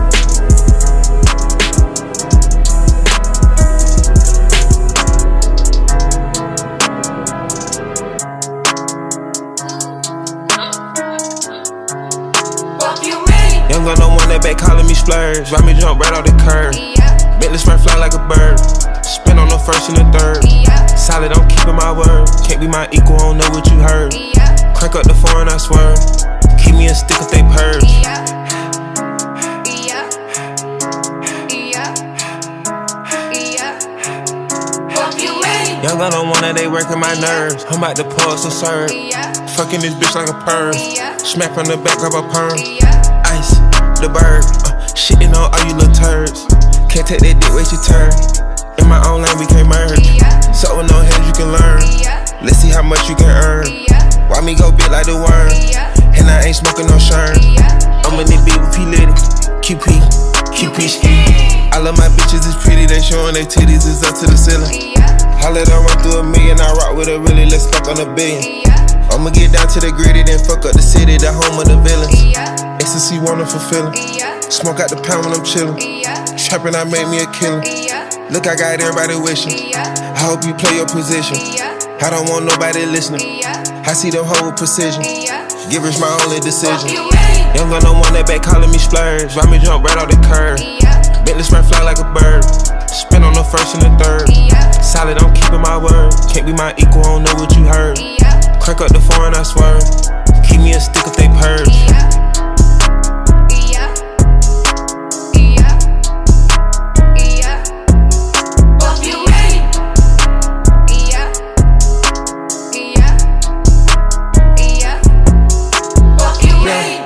Young gun, no one that back calling me splurge. Ride me jump right off the curb. Yeah. Bentley spray fly like a bird. Spin on the first and the third. Yeah. Solid, I'm keeping my word. Can't be my equal, I don't know what you heard. Yeah. Crank up the foreign, I swear. Keep me a stick if they purge. Yeah. Yeah. Yeah. Yeah. Fuck you, man. Young gun, no one that they working my nerves. I'm about to pull some serve. Yeah. Fucking this bitch like a perm. Yeah. Smack from the back of a perm. Yeah. Ice, the bird, uh, shitting on all you little turds. Can't take that dick, wait your turn. In my own lane, we can't merge. Yeah. So with no hands, you can learn. Yeah. Let's see how much you can earn. Yeah. Why me go big like the worm? Yeah. And I ain't smoking no shirt. Yeah. I'm in the beat with P. Litty, Q P, Q P ski. I love my bitches, it's pretty, they showing their titties, it's up to the ceiling. Yeah. I let her run through a million, I rock with her really, let's fuck on a billion. Yeah. I'ma get down to the gritty, then fuck up the city, the home of the villains. Yeah. Ecstasy, wonderful feeling. Yeah. Smoke out the pound when I'm chillin'. Yeah. Trappin', I made me a killer. Yeah. Look, I got everybody wishing. Yeah. I hope you play your position. Yeah. I don't want nobody listening. Yeah. I see them whole precision. Yeah. Givers my only decision. Young gun, no one that back calling me splurge. Ride me jump right off the curb. Yeah. Bentley spray fly like a bird. Spin on the first and the third. Yeah. Solid, I'm keeping my word. Can't be my equal, I don't know what you heard. Yeah. Crank up the foreign, I swear. Keep me a stick if they purge. Yeah. Yeah. Yeah. Yeah. Fuck you, man. Yeah. Yeah. Yeah. Fuck you, man.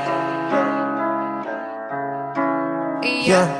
Yeah. Yeah.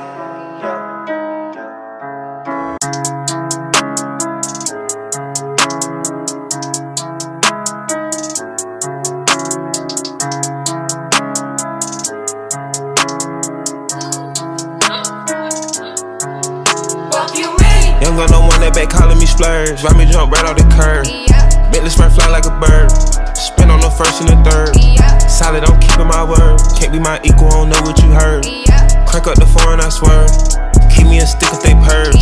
calling me splurge. Ride me jump right off the curb. Bentley spray fly like a bird. Spin on the first and the third. Solid, I'm keeping my word. Can't be my equal, I don't know what you heard. Crank up the foreign, I swear. Keep me a stick if they purge.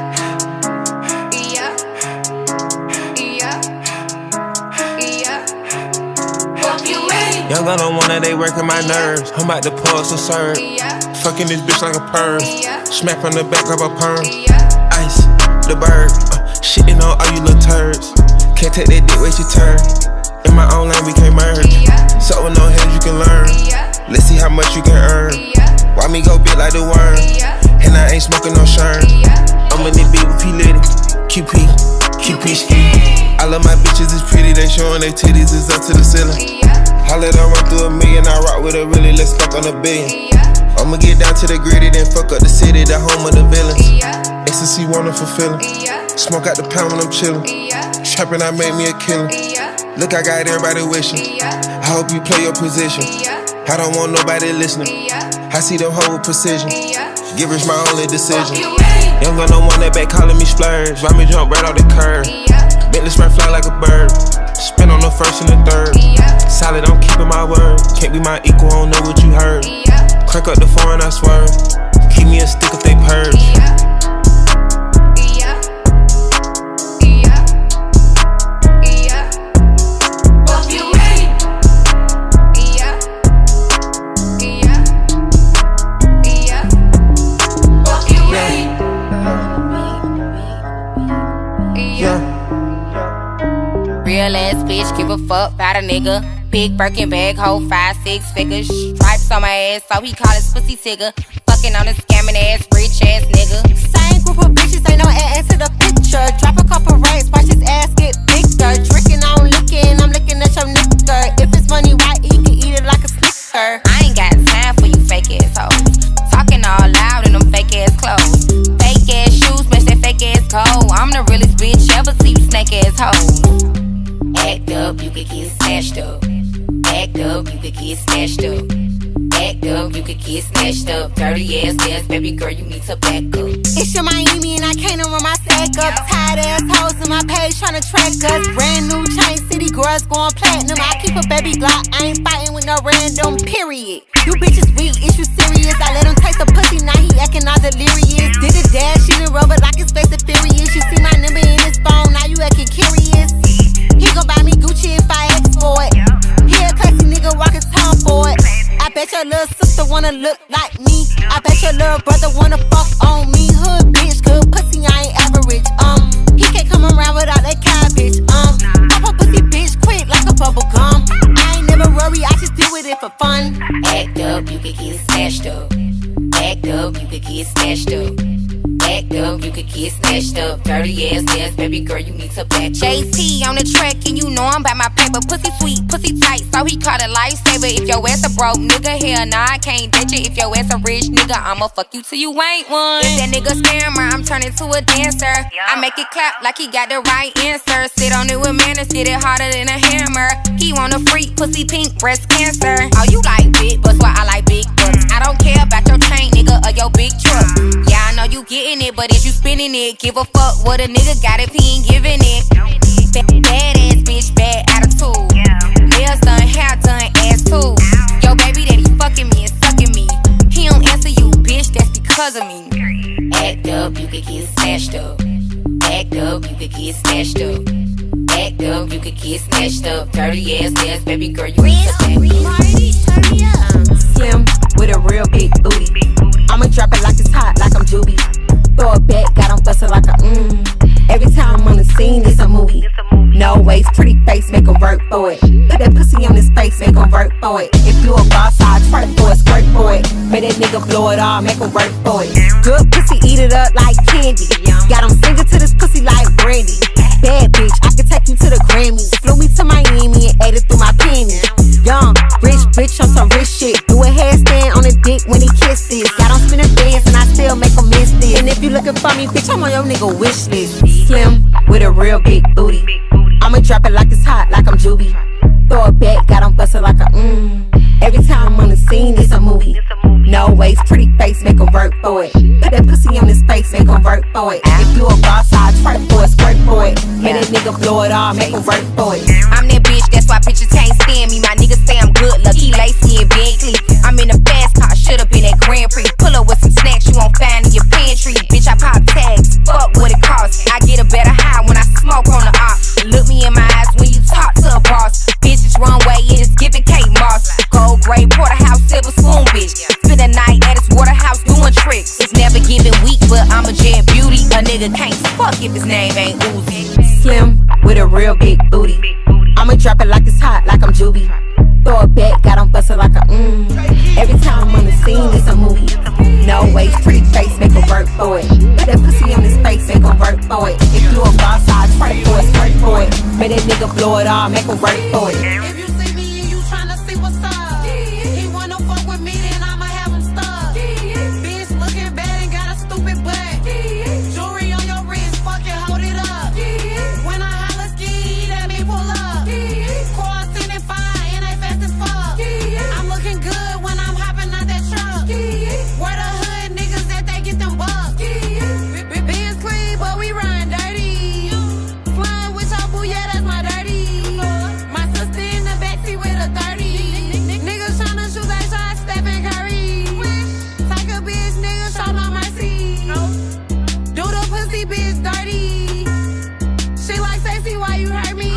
Young gun on one that they working my nerves. I'm about to pour some serve. Fucking this bitch like a perm. Smack from the back of a perm. Ice, the bird. Uh, shitting on all you little turds. Can't take that dick, wait your turn. In my own lane, we can't merge. So with no hands, you can learn. Let's see how much you can earn. Why me go big like the worm? And I ain't smoking no shirt. I'm in the beat with P. Litty. Q P, Q P ski. I love my bitches, it's pretty. They showing their titties, it's up to the ceiling. I let her run through a million, I rock with her really, let's fuck on a billion. I'ma get down to the gritty, then fuck up the city, the home of the villains. Ecstasy, wonderful feeling. Smoke out the pound when I'm chillin'. Trappin', I made me a killer. Look, I got everybody wishing. I hope you play your position. I don't want nobody listening. I see them hoe with precision. Give us my only decision. Young gun on one that back calling me splurge. Ride me jump right off the curb. Bentley spray fly like a bird. Spin on the first and the third. Solid, I'm keeping my word. Can't be my equal, I don't know what you heard. Crank up the foreign, I swear. Keep me a stick if they purge. Real ass bitch, give a fuck about a nigga. Big Birkin bag, hold five, six figures. Stripes on my ass, so he call his pussy tigger. Fucking on a scamming ass, rich ass nigga. Same group of bitches, ain't no ass to the picture. Drop a couple racks, watch his ass get bigger. Drinking, I'm licking, I'm looking at your nigga. If it's money right, he can eat it like a snicker. I ain't got time for you fake ass hoes. Talking all loud in them fake ass clothes. Fake ass shoes, match that fake ass gold. I'm the realest bitch ever see you snake ass hoes. Act up, you could get snatched up. Act up, you could get snatched up. Act up, you could get snatched up. Dirty ass ass, baby girl, you need to back up. It's your Miami and I can't run my sack up. Tired ass hoes in my page tryna track us. Brand new chain city girls going platinum. I keep a baby Glock, I ain't fighting with no random, period. You bitches weak, is you serious? I let him taste the pussy, now he acting all delirious. Did a dash in the rubber like his face is furious. You see my number in his phone, now you acting curious. He gon' buy me Gucci if I ask for it. He a classy nigga, walkin' town for it. I bet your little sister wanna look like me. I bet your little brother wanna fuck on me. Hood bitch, good pussy, I ain't average. Um, he can't come around without that cabbage. Um, pop a pussy bitch quick like a bubble gum. I ain't never worry, I just deal with it for fun. Act up, you could get snatched up. Act up, you could get snatched up. Act up, you could get snatched up. Dirty ass ass, baby girl, you need to back up. J T on the track, and you know I'm about my paper. Pussy sweet, pussy tight, so he called a lifesaver. If your ass a broke nigga, hell nah, I can't ditch you. If your ass a rich nigga, I'ma fuck you till you ain't one. If that nigga scammer, I'm turning to a dancer. I make it clap like he got the right answer. Sit on it with manners, get it harder than a hammer. He want a freak, pussy pink, breast cancer. Oh, you like big butts, well I like big butts. I don't care about your chain, nigga, or your big truck. Yeah, I know you getting it, but is you spinning it? Give a fuck what a nigga got if he ain't giving it. Bad, bad ass bitch, bad attitude. Nails done, hair done, ass too. Yo, baby that he fucking me and sucking me. He don't answer you, bitch, that's because of me. Act up, you could get snatched up. Act up, you could get snatched up. Act up, you could get snatched up. Dirty ass ass, baby girl, you need to back up. Slim with a real big booty. I'ma drop it like it's hot, like I'm Juby. Throw it back, got him bustin' like a mmm. Every time I'm on the scene, it's a movie. No waist, pretty face, make him work for it. Put that pussy on his face, make him work for it. If you a boss, I'll twerk for it, squirt for it. Make that nigga blow it all, make him work for it. Good pussy, eat it up like candy. Got him singing to this pussy like Brandy. Bad bitch, I can take you to the Grammys. Flew me to Miami and ate it through my panties. Young, rich bitch on some rich shit. Do a handstand on the dick when he kisses. Got him spinning dance and I still make him miss this. And if you looking for me, bitch, I'm on your nigga wish list. Slim with a real big booty. I'ma drop it like it's hot, like I'm Juby. Throw it back, got him bustin' like a mmm. Every time I'm on the scene, it's a movie. No waist, pretty face, make him work for it. Put that pussy on his face, make him work for it. If you a boss, I'll twerk for it, squirt for it. Make that nigga blow it all, make him work for it. I'm that bitch, that's why bitches can't stand me. My niggas say I'm good, lucky, lacy and Bentley. I'm in a fast car, shut up in that Grand Prix. Pull up with some snacks you won't find in your pantry. Bitch, I pop tags, fuck what it costs. I get a better high when I smoke on the op. Look me in my eyes when you talk to a boss. Bitches run way, it is giving Kate Moss. Gold gray, porterhouse, silver spoon, bitch. Spend the night at his waterhouse doing tricks. It's never giving weak, but I'm a jet beauty. A nigga can't fuck if his name ain't Uzi. Slim with a real big booty. I'ma drop it like it's hot, like I'm Juby. Throw it back, got on bustin' like a mmm. Every time I'm on the scene, it's a movie. No waist, pretty face, make him work for it. Put that pussy on his face, make him work for it. If you a boss, I'll twerk for it, twerk for it. Make that nigga blow it all, make him work for it. If you see me and you tryna see what's up, he wanna fuck with me, then I'ma have him stuck. Bitch looking bad and got a stupid butt. Jewelry on your wrist, fucking hold it up. When I holla ski, that me pull up. Car sitting fine and they fast as fuck. I'm looking good when I'm hopping out that truck. Where the hood niggas that they get them bucks. Benz clean, but we run dirty. Flying with your boo, yeah, that's my dirty. My sister in the backseat with a thirty. Niggas tryna shoot they shot, Stephen Curry. Take a bitch, nigga, show no mercy. Do the pussy bitch dirty. She like sexy, why you hurt me?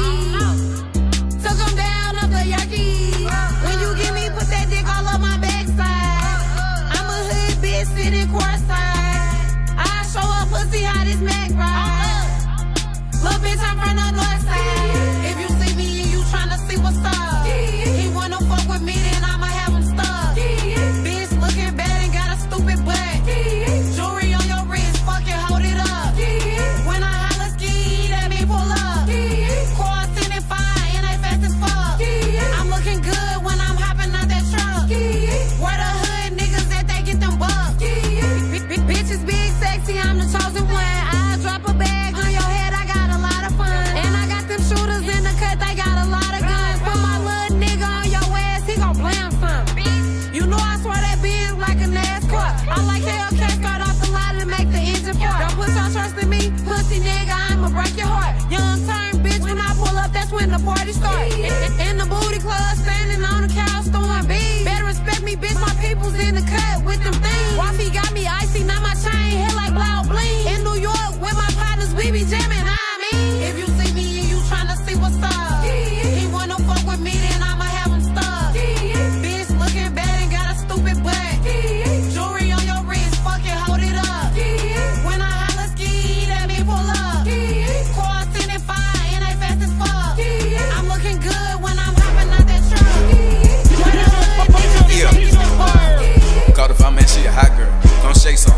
Took him down up the Yerky. When you get me, put that dick all up my backside. I'm a hood bitch sitting courtside. I show up pussy how this Mac ride. Little bitch, I'm from the north side. If you see me and you tryna see what's up, he wanna fuck with me, then I'ma have him stuck. Bitch looking bad and got a stupid butt. Jewelry on your wrist, fucking hold it up. When I holla ski, that me pull up. Car sitting fine and they fast as fuck. I'm looking good when I'm hopping out that truck. Where the hood niggas that they get them bucks. Bitches big, sexy, I'm the chosen one. I drop a bag on your head, I got a lot of fun. And I got them shooters in the cut, they got a lot of guns. Put my little nigga on your ass, he gon' blam some. You know I swear that Benz like a NASCAR. I like Hellcat, start off the line and make the engine fart. Don't put your trust in me, pussy nigga, I'ma break your heart. Young turn bitch, when I pull up, that's when the party start. In the booty club, standing on the couch, throwing beats. Better respect me, bitch, my people's in the cut with them things. Wifey got me icy, now my chain hit like Blau Bling. In New York, with my partners, we be jamming, I mean. If you see me and you tryna see what's up, he wanna fuck with me, then I'ma have him stuck. Bitch looking bad and got a stupid butt. Jewelry on your wrist, fucking hold it up. When I holla ski, that me pull up. Car sitting fine and they fast as fuck. I'm looking good when I'm hopping out that truck. Where the hood niggas Yeah. that get them bucks. Caught if I man, she a hot girl. Come shake some.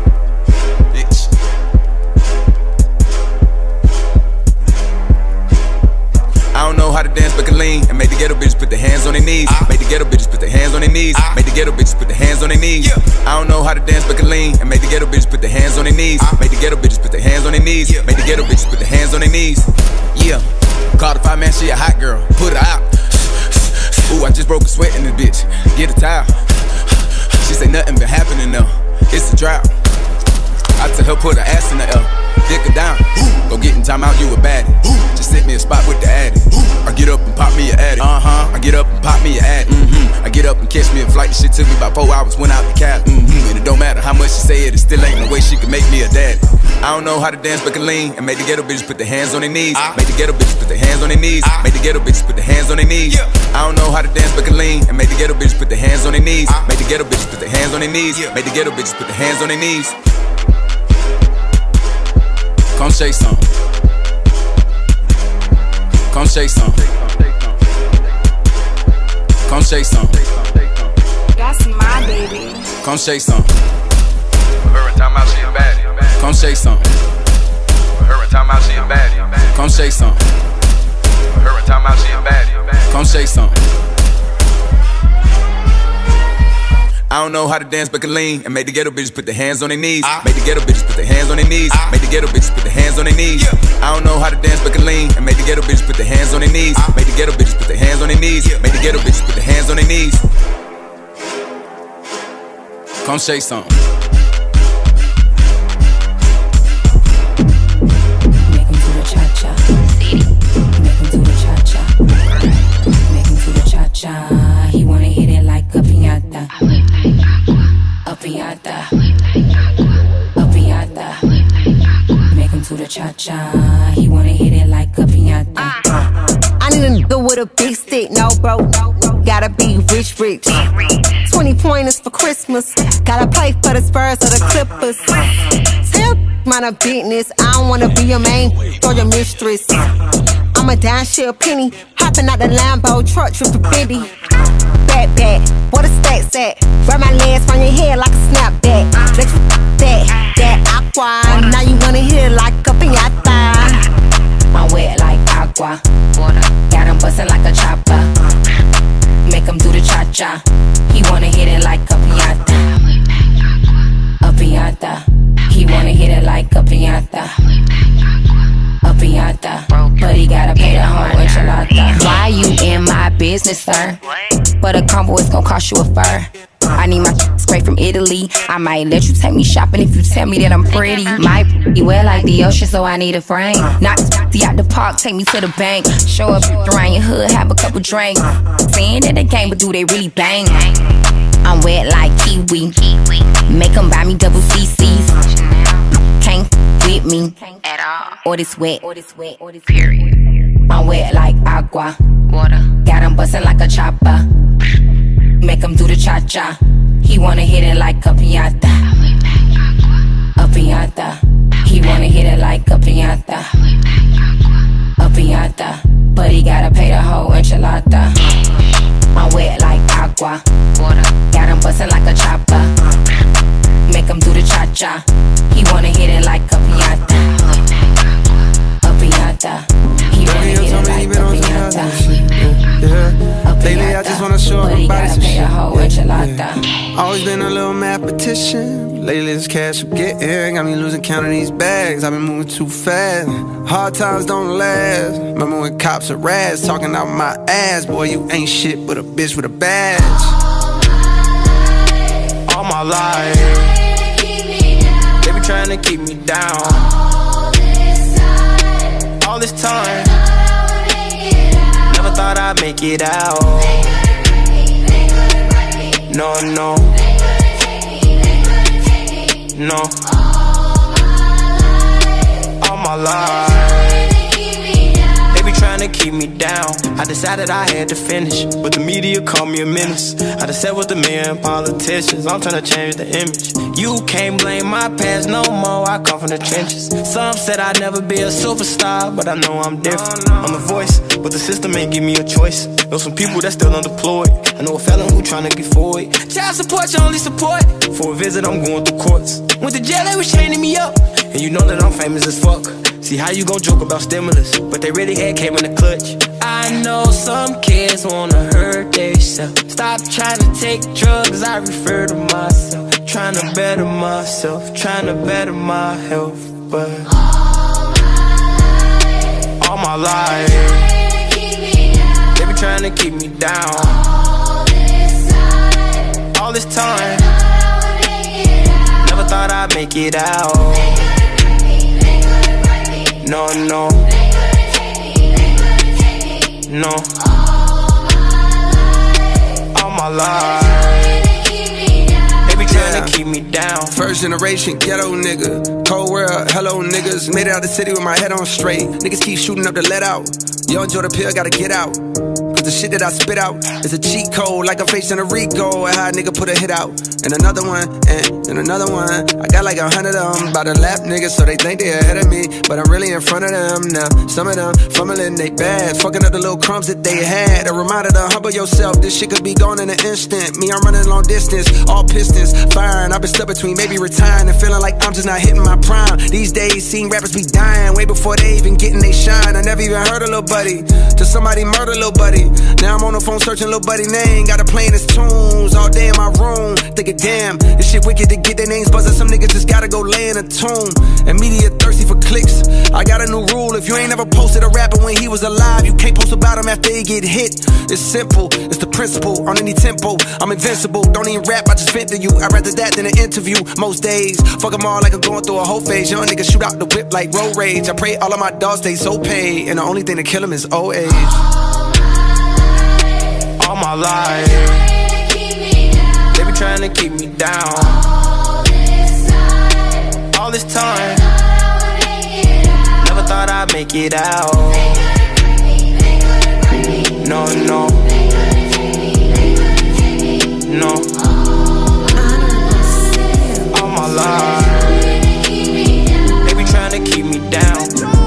Bitch. I don't know how to dance, but can lean and make the ghetto bitches put their hands on their knees. Make the ghetto bitches put their hands on their knees. Make the ghetto bitches put their hands on their knees. I don't know how to dance, but can lean and make the ghetto bitches put their hands on their knees. Make the ghetto bitches put their hands on their knees. Make the ghetto bitches put their hands on their knees. Yeah. Caught if I man, she a hot girl. Put her out. Ooh, I just broke a sweat in this bitch. Get a towel. She say nothing been happening though. It's a drought. I tell her put her ass in the air, dick her down. Go get in time out, you a baddie. Just sit me a spot with the addy. I get up and pop me a addy. Uh huh. I get up and pop me a addy. Mm-hmm. I get up and catch me a flight. The shit took me about four hours. Went out the cab. Mm-hmm. And it don't matter how much she say it, it still ain't no way she can make me a daddy. I don't know how to dance, but can lean and make the ghetto bitches put their hands on their knees. Make the ghetto bitches put their hands on their knees. Make the ghetto bitches put their hands on their knees. I don't know how to dance, but can lean and make the ghetto bitches put their hands on their knees. Make the ghetto bitches put their hands on their knees. Make the ghetto bitches put their hands on their knees. Come shake some. Come shake some. Come shake some. That's my baby. Come shake some. Her and time out, she a baddie. Come shake some. Her and time out, she a baddie. Come shake some. Her and time out, she a baddie. Come shake some. I don't know how to dance, but can lean and make the ghetto bitches put their hands on their knees. Make the ghetto bitches put their hands on their knees. Make the ghetto bitches put their hands on their knees. I don't know how to dance, but can lean and make the ghetto bitches put their hands on their knees. Make the ghetto bitches put their hands on their knees. Make the ghetto bitches put their hands on their knees. Come say something. Make him do the cha-cha. Make him do the cha-cha. Make him do the cha-cha. He wanna hit it like a piñata. A piñata. A piñata. Make him do the cha-cha. He wanna hit it like a piñata. I need a nigga with a big stick, no bro. Gotta be rich, rich. twenty pointers for Christmas. Gotta play for the Spurs or the Clippers. Tell mind a business. I don't wanna be your main or your mistress. I'm a dime share penny. Hopping out the Lambo truck, tripping Bendy. Back, back, what a stack's at? Grab my legs from your head like a snapback. Let you that, that aqua. Now you wanna hit it like a piñata. I'm wet like agua. Got him bustin' like a chopper. Make him do the cha-cha. He wanna hit it like a piñata. A piñata. He wanna hit it like a piñata. A piñata. But he gotta pay the whole enchilada. Why you in my business, sir? But a combo is gon' cost you a fur. I need my straight from Italy. I might let you take me shopping if you tell me that I'm pretty. Might be well like the ocean, so I need a frame. Knock the out the park, take me to the bank. Show up around your hood, have a couple drinks. Saying that they can't, but do they really bang? I'm wet like kiwi. Make them buy me double C Cs. Can't with me at all. Or this wet, or this wet, or this period. I'm wet like agua. Water. Got him bustin' like a chopper. Make him do the cha-cha. He wanna hit it like a piñata. A piñata. He wanna hit it like a piñata. A piñata. But he gotta pay the whole enchilada. I'm wet like agua. Water. Got him bustin' like a chopper. Make him do the cha-cha. He wanna hit it like a piñata. A piñata. He wanna hit it like a piñata. Yeah. Lately I just wanna show up my body some shit. Yeah. Always been a little mathematician. Lately this cash I'm getting got me losing count of these bags. I've been moving too fast. Hard times don't last. Remember when cops are rats talking out my ass? Boy, you ain't shit but a bitch with a badge. All my life they be trying to keep me down. All this time never thought I'd make it out. No, no, no. All my life they be trying to keep me down. I decided I had to finish, but the media called me a menace. I just sat with the men politicians. I'm trying to change the image. You can't blame my past no more. I come from the trenches. Some said I'd never be a superstar, but I know I'm different. I'm the voice, but the system ain't give me a choice. Know some people that still unemployed. I know a felon who tryna get forward. Child support, your only support. For a visit, I'm going through courts. Went to jail, they was chaining me up. And you know that I'm famous as fuck. See how you gon' joke about stimulus, but they really had came in the clutch. I know some kids wanna hurt themselves. Stop trying to take drugs, I refer to myself. Trying to better myself, trying to better my health. But all my life they be trying to keep me down. All this time never thought I'd make it out. No, no, no. All my life they be trying to keep me down. First generation ghetto nigga. Cold world, hello niggas. Made it out the city with my head on straight. Niggas keep shooting up the let out. Yo, enjoy the pill, gotta get out. Cause the shit that I spit out is a cheat code, like I'm facing a Rico. And how a nigga put a hit out. And another one, and then another one. I got like a hundred of them by the lap niggas, so they think they ahead of me, but I'm really in front of them now. Some of them fumbling they bags, fucking up the little crumbs that they had. A reminder to humble yourself, this shit could be gone in an instant. Me, I'm running long distance, all pistons firing. I've been stuck between maybe retiring and feeling like I'm just not hitting my prime. These days, seeing rappers be dying way before they even getting they shine. I never even heard a little buddy till somebody murder little buddy. Now I'm on the phone searching little buddy name, got her playing his tunes all day in my room. Thinking, damn, this shit wicked to get their names buzzing. Some niggas just gotta go lay in a tomb. And media thirsty for clicks. I got a new rule, if you ain't ever posted a rapper when he was alive, you can't post about him after he get hit. It's simple, it's the principle, on any tempo, I'm invincible. Don't even rap, I just vent to you. I'd rather that than an interview most days. Fuck them all like I'm going through a whole phase. Young niggas shoot out the whip like road rage. I pray all of my dogs stay so paid, and the only thing to kill them is old age. All my life, they be trying to keep me down. All this time, never thought I'd make it out. No, no, no. All my life, they be trying to keep me down.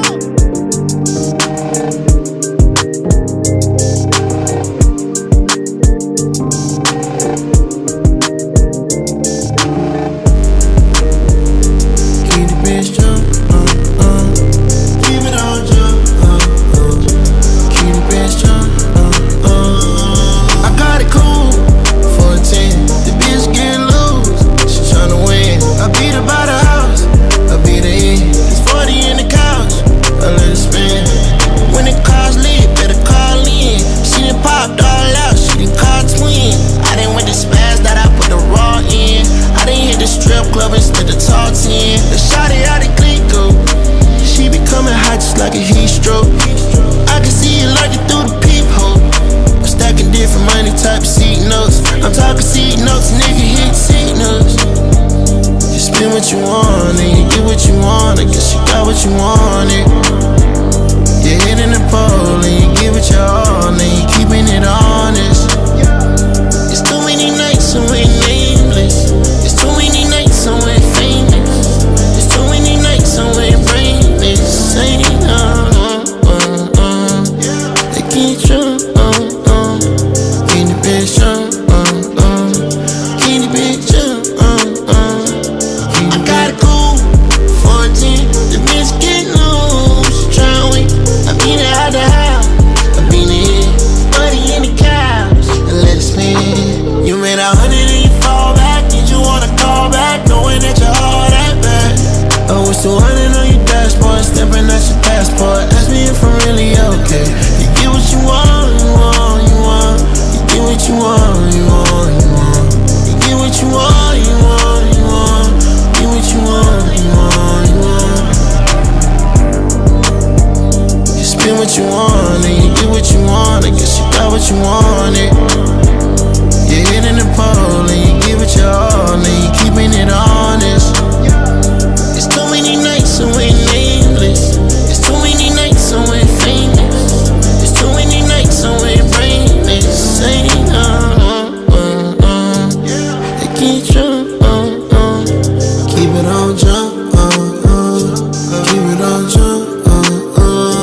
Strip club instead of talk ten. The shawty out of Glico, she be coming hot just like a heat stroke. I can see you lurking through the peephole. I'm stacking different money type of seat notes. I'm talking seat notes, nigga hit seat notes. You spend what you want and you get what you want. I guess you got what you wanted. You're hitting the pole and you give it your all and you keeping it honest. It's too many nights so we nameless. It's too many nights so we're famous. It's too many nights so we're brainless. Ain't uh, uh, uh, uh. They can't show, uh, uh. Can't the bitch, uh, uh, uh. Can't the bitch, uh, uh, uh. I got a cool fourteen. The bitch get loose. Tryna wait. I beat it out the house. I beat it. Money in the couch. And let it spin. You made a hundred and you fall back. Did you wanna call back? Knowing that you're all that bad. I was two hundred on your dashboard. Stepping at your passport. Ask me if I'm really okay. You get what you want, you want, you want. You get what you want, you want, you want. You get what you want, you want, you want. You get what you want, you want, you want. You spend what you want and you get what you want. I guess you got what you wanted. You're hitting the pole and you give it your all and you keeping it honest. It's too many nights so we're nameless. It's too many nights so we're famous. It's too many nights so we're brainless. Ain't uh, uh, uh. They can't jump, uh, uh. Keep it on jump, uh, uh. Keep it on jump, uh, uh.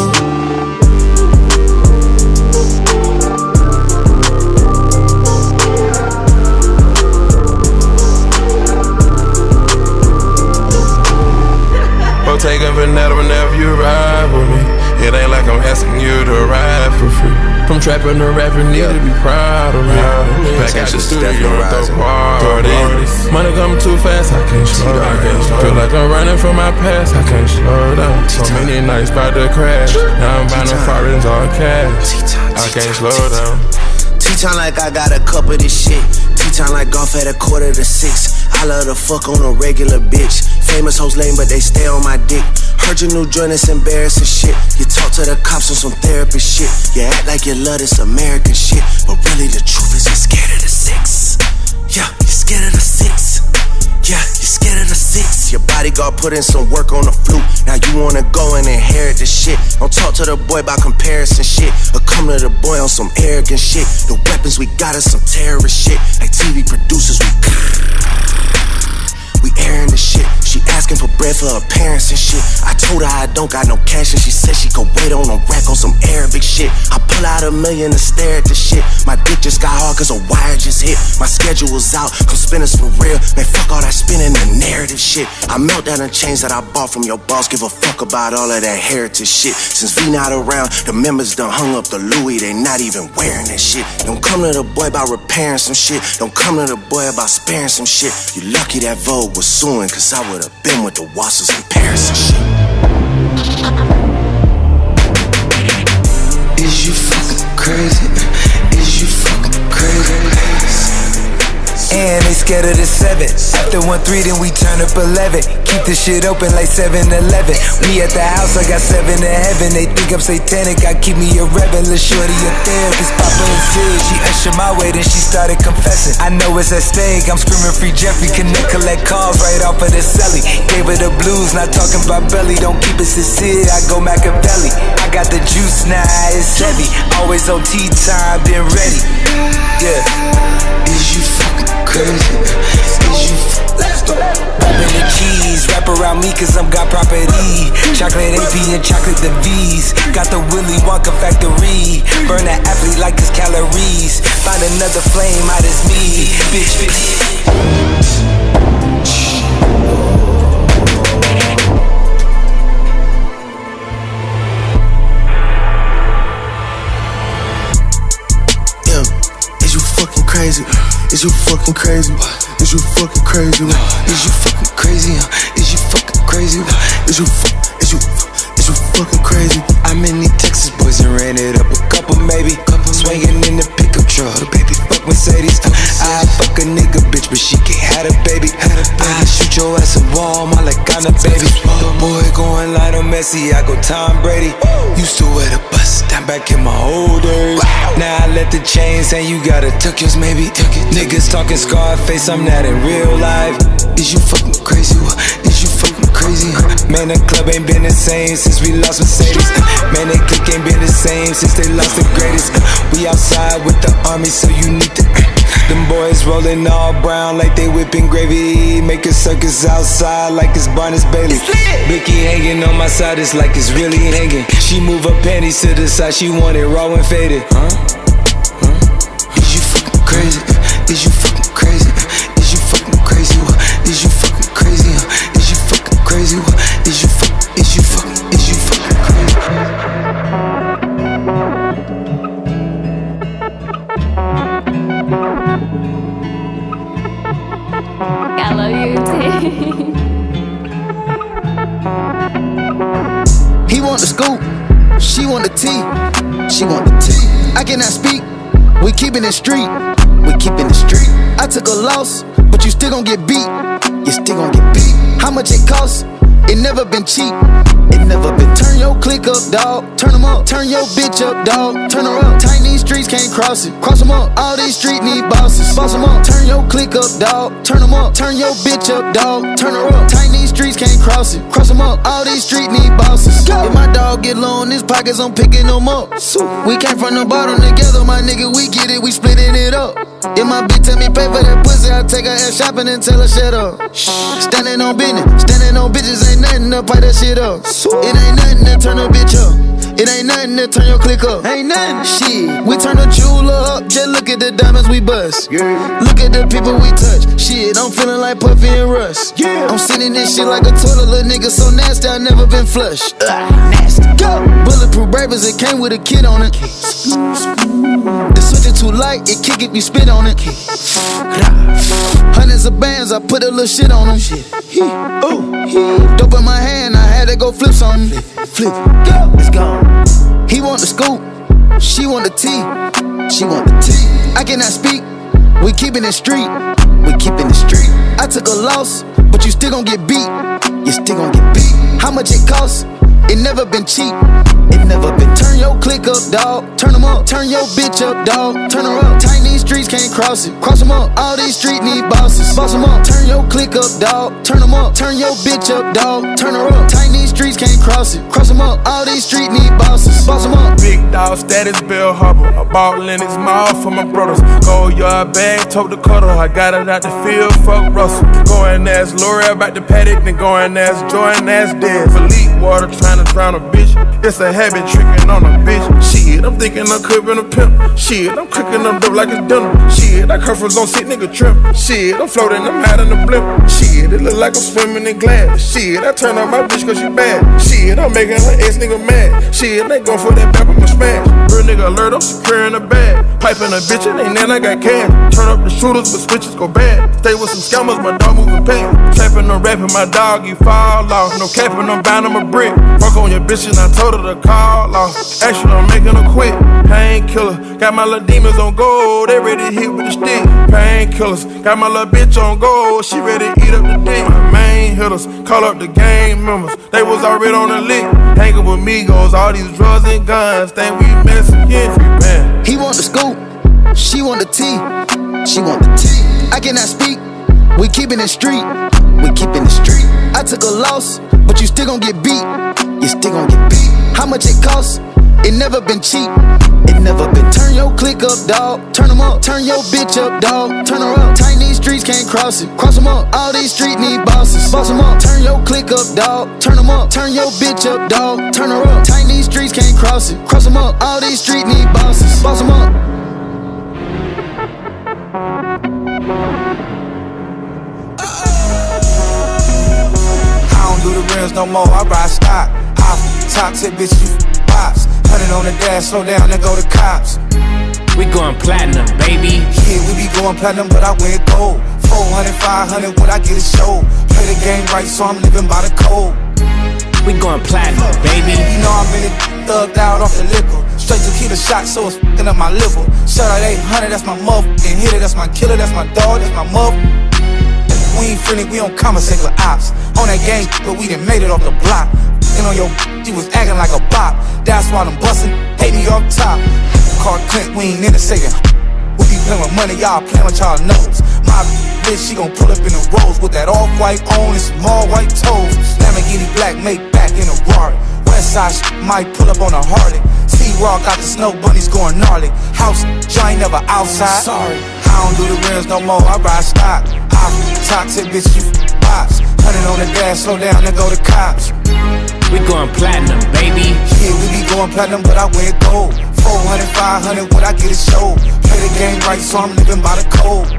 Take a vanilla whenever you ride with me. It ain't like I'm asking you to ride for free. From trapping to rapping, need to be proud of me. Back at the studio with the party. Money coming too fast, I can't slow down. Feel like I'm running from my past, I can't slow down. So many nights about to crash. Now I'm buying the foreigns all cash. I can't slow down. T-time like I got a cup of this shit. T-time like golf at a quarter to six. I love to fuck on a regular bitch. Famous hoes lame, but they stay on my dick. Heard your new joint, it's embarrassing shit. You talk to the cops on some therapy shit. You act like you love this American shit, but really the truth is you're scared of the six. Yeah, you're scared of the six. Yeah, you're scared of the six. Your bodyguard put in some work on the flute. Now you wanna go and inherit the shit. Don't talk to the boy about comparison shit, or come to the boy on some arrogant shit. The weapons we got is some terrorist shit. Like T V producers, we we airing the shit. She asked asking for bread for her parents and shit. I told her I don't got no cash and she said she could wait on a rack on some Arabic shit. I pull out a million and stare at the shit. My dick just got hard cause a wire just hit. My schedule was out, come spin us for real. Man, fuck all that spinning the narrative shit. I melt down the chains that I bought from your boss. Give a fuck about all of that heritage shit. Since V not around, the members done hung up the Louis. They not even wearing that shit. Don't come to the boy about repairing some shit. Don't come to the boy about sparing some shit. You lucky that Vogue was suing, cause I would've been with the Wassers in Paris and shit. Is you fucking crazy? Is you fucking crazy? And they scared of the seven. After one three, then we turn up eleven. Keep the shit open like seven eleven. We at the house, I got seven to heaven. They think I'm satanic, I keep me a rebel. Lil' shorty a therapist, Papa and Sid. She ushered my way, then she started confessing. I know it's at stake, I'm screaming free Jeffrey. Connect, collect calls right off of the celly. Gave her the blues, not talking about belly. Don't keep it sincere, I go Machiavelli. I got the juice now, it's heavy. Always on tea time, been ready. Yeah. Is you fucking crazy? Is you Let's go. Poppin' the cheese, wrap around me cause I'm got property. Chocolate A P and chocolate the V's. Got the Willy Wonka factory. Burn that athlete like it's calories. Find another flame, out as me. Bitch, bitch. Crazy. Is you fucking crazy? Is you fucking crazy? Is you fucking crazy? Is you fucking crazy? Is you fu- is you is you fucking crazy? I'm in these Texas boys and ran it up a couple maybe. Swinging in the pickup truck, baby fuck Mercedes. I fuck a nigga bitch, but she can't have a baby. I shoot your ass in Walmart like I'm a baby. The boy going Lionel Messi, I go Tom Brady. Used to wear the bus, down back in my old days. Now I let the chains hang, you gotta tuck yours maybe. Niggas talking Scarface, I'm not in real life. Is you fucking crazy? Is you fucking crazy? Man, the club ain't been the same since we lost Mercedes. Man, they clique ain't been the same since they lost the greatest. We outside with the army, so you need to. Them boys rolling all brown like they whipping gravy. Make a circus outside like it's Barnes Bailey. Blicky hanging on my side, it's like it's really hanging. She move her panties to the side, she want it raw and faded. Huh? Huh? Is you fucking crazy? Is you fucking crazy? Is you fucking crazy? Is you fucking crazy? Is you fucking crazy? Is you fuck? Is you fucking? Is you fucking crazy? I love you too. He want the scoop, she want the tea, she want the tea. I cannot speak, we keepin' it street, we keepin' it street. I took a loss, but you still gon' get beat, you still gon' get beat. How much it cost? It never been cheap, it never been. Turn your click up, dog, turn them up. Turn your bitch up, dog, turn her up. Tight these streets can't cross it, cross them up. All these streets need bosses, boss them up. Turn your click up, dog, turn them up. Turn your bitch up, dog, turn her up. Tight these streets can't cross it, cross them up. All these streets need bosses. If my dog get low in his pockets, I'm picking them up. We came from the bottom together, my nigga, we get it, we splitting it up. If my bitch tell me pay for that pussy, I take her ass shopping and tell her shut up. Standing on business, standing on bitches ain't nothing to pipe that shit up. It ain't nothing to turn a bitch up. It ain't nothing to turn your click up. Ain't nothing. Shit, we turn the jeweler up. Just look at the diamonds we bust. Yeah. Look at the people we touch. Shit, I'm feeling like Puffy and Russ. Yeah. I'm sitting this shit like a toilet, little nigga so nasty, I never been flushed. Uh, nasty. Go. Bulletproof bravers, it came with a kid on it. The switch is too light, it kick if you spit on it. Hundreds of bands, I put a little shit on them. Ooh. Dope in my hand, I had to go flip something. Flip, go, let's go. He want the scoop, she want the tea, she want the tea. I cannot speak, we keepin' it street, we keepin' it street. I took a loss, but you still gon' get beat, you still gon' get beat. How much it cost? It never been cheap. It never been. Turn your click up, dog. Turn them up. Turn your bitch up, dog. Turn her up. Tight these streets can't cross it. Cross them up. All these streets need bosses. Boss them up. Turn your click up, dog. Turn them up. Turn your bitch up, dog. Turn her up. Tight these streets can't cross it. Cross them up. All these streets need bosses. Boss them up. Big dog status, Bill Harbor. A ball in his mouth for my brothers. Go yard bag, tote the cutter. I got it out the field, fuck Russell. Go and ask L'Oreal about the paddock, then go and ask Jordan, ask Dez. Elite water trying to drown a bitch. It's a habit tricking on a bitch. Shit, I'm thinking I'm cooking a pimp. Shit, I'm cooking them dope like it's dinner. Shit, that curfew's on sick nigga trim. Shit, I'm floating, I'm out in the blimp. Shit, it look like I'm swimming in glass. Shit, I turn on my bitch cause she bad. Shit, I'm making her ex nigga mad. Shit, they go for that back with my smash. Real nigga alert, I'm securing the bag. Piping a bitch, and ain't then I got cash. Turn up the shooters, but switches go bad. Stay with some scammers, my dog moving past. Trapping or rapping, my dog, you fall off. No capping, I'm bound, I'm a brick. Fuck on your bitch, and I told her to call off. Actually, I'm making her quit. Painkiller, got my little demons on gold. They ready to hit with the stick. Painkillers, got my little bitch on gold. She ready to eat up the dick. My main hitters, call up the gang members. They was already on the lick. Hanging with Migos, all these drugs and guns. Think we Mexican, free man. He want the scoop, she want the tea. She want the tea. I cannot speak. We keepin' it street. We keepin' it street. I took a loss, but you still gon' get beat. You still gon' get beat. How much it costs? It never been cheap. It never been. Turn your click up, dog. Turn them up. Turn your bitch up, dog. Turn her up. Tight these streets can't cross it. Cross them up. All these streets need bosses. Boss them up. Turn your click up, dog. Turn them up. Turn your bitch up, dog. Turn her up. Tight these streets can't cross it. Cross them up. All these streets need bosses. Boss them up. I don't do the rims no more. I ride stock. Off top tip, bitch, you pops. Hundred on the dash, slow down and go to cops. We going platinum, baby. Yeah, we be going platinum, but I went gold. four hundred, five hundred, when I get a show. Play the game right, so I'm living by the code. We going platinum, baby. You know I'm in it, thugged out off the liquor. Straight to keep a shot, so it's f***ing up my liver. Shout out eight hundred, that's my motherfucking hitter. That's my killer, that's my dog, that's my mother. We ain't friendly, we don't conversate with ops. On that game, but we done made it off the block. And on your she was acting like a bop. That's why them bustin' hate me off top. Car Clint, we ain't in the second. We be playing with money, y'all playing with y'all nose. My bitch, she gon' pull up in the rose with that off-white on and some all-white toes. Lamborghini black, make back in a Rari. Westside shit might pull up on a Harley. T-Raw got the snow bunnies going gnarly. House, joint never outside. Sorry, I don't do the rims no more, I ride stock. Off top tip, bitch, you pops. Hundred on the dash, slow down and go to cops. We going platinum, baby. Yeah, we be going platinum, but I went gold. four hundred, five hundred, when I get a show. Play the game right, so I'm living by the code.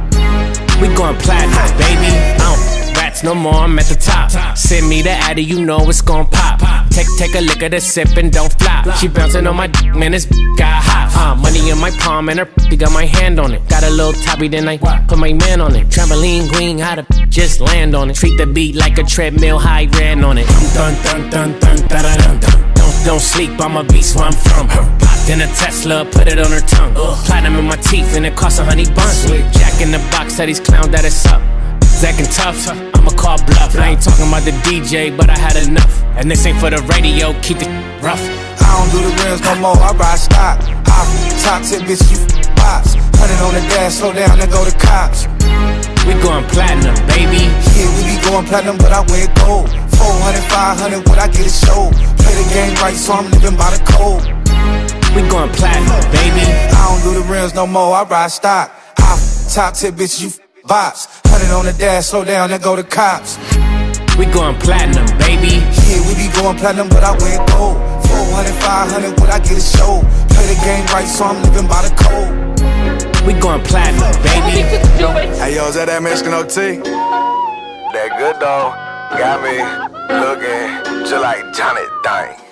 We going platinum, baby. I don't rats no more, I'm at the top. Send me the addy, you know it's gon' pop. Take take a lick of the sip and don't flop. She bouncing on my dick, man, this got hot. Uh, money in my palm and her got my hand on it. Got a little toppy, then I put my man on it. Trampoline queen, how to just land on it. Treat the beat like a treadmill, high ran on it. Dun dun dun dun dun dun dun dun. Don't don't sleep, I'm a beast where I'm from. Popped in a Tesla, put it on her tongue. Platinum in my teeth and it costs a honey bun. Jack in the box, said he's clown that it's up. Zackin' tough, I'ma call bluff. I ain't talking about the D J, but I had enough. And this ain't for the radio, keep it rough. I don't do the rims no more, I ride stock. Off top tip, bitch, you pops. Hundred on the dash, slow down and go to cops. We going platinum, baby. Yeah, we be going platinum, but I went gold. four hundred, five hundred, when I get a show. Play the game right, so I'm living by the code. We going platinum, baby. I don't do the rims no more, I ride stock. Off top tip, bitch, you bops. Hundred on the dash, slow down and go to cops. We going platinum, baby. Yeah, we be going platinum, but I went gold. four hundred, five hundred, when I get a show. Play the game right, so I'm living by the code. We going platinum, baby. Hey, yo, is that that Mexican O T? That good dog got me looking just like Johnny Dang.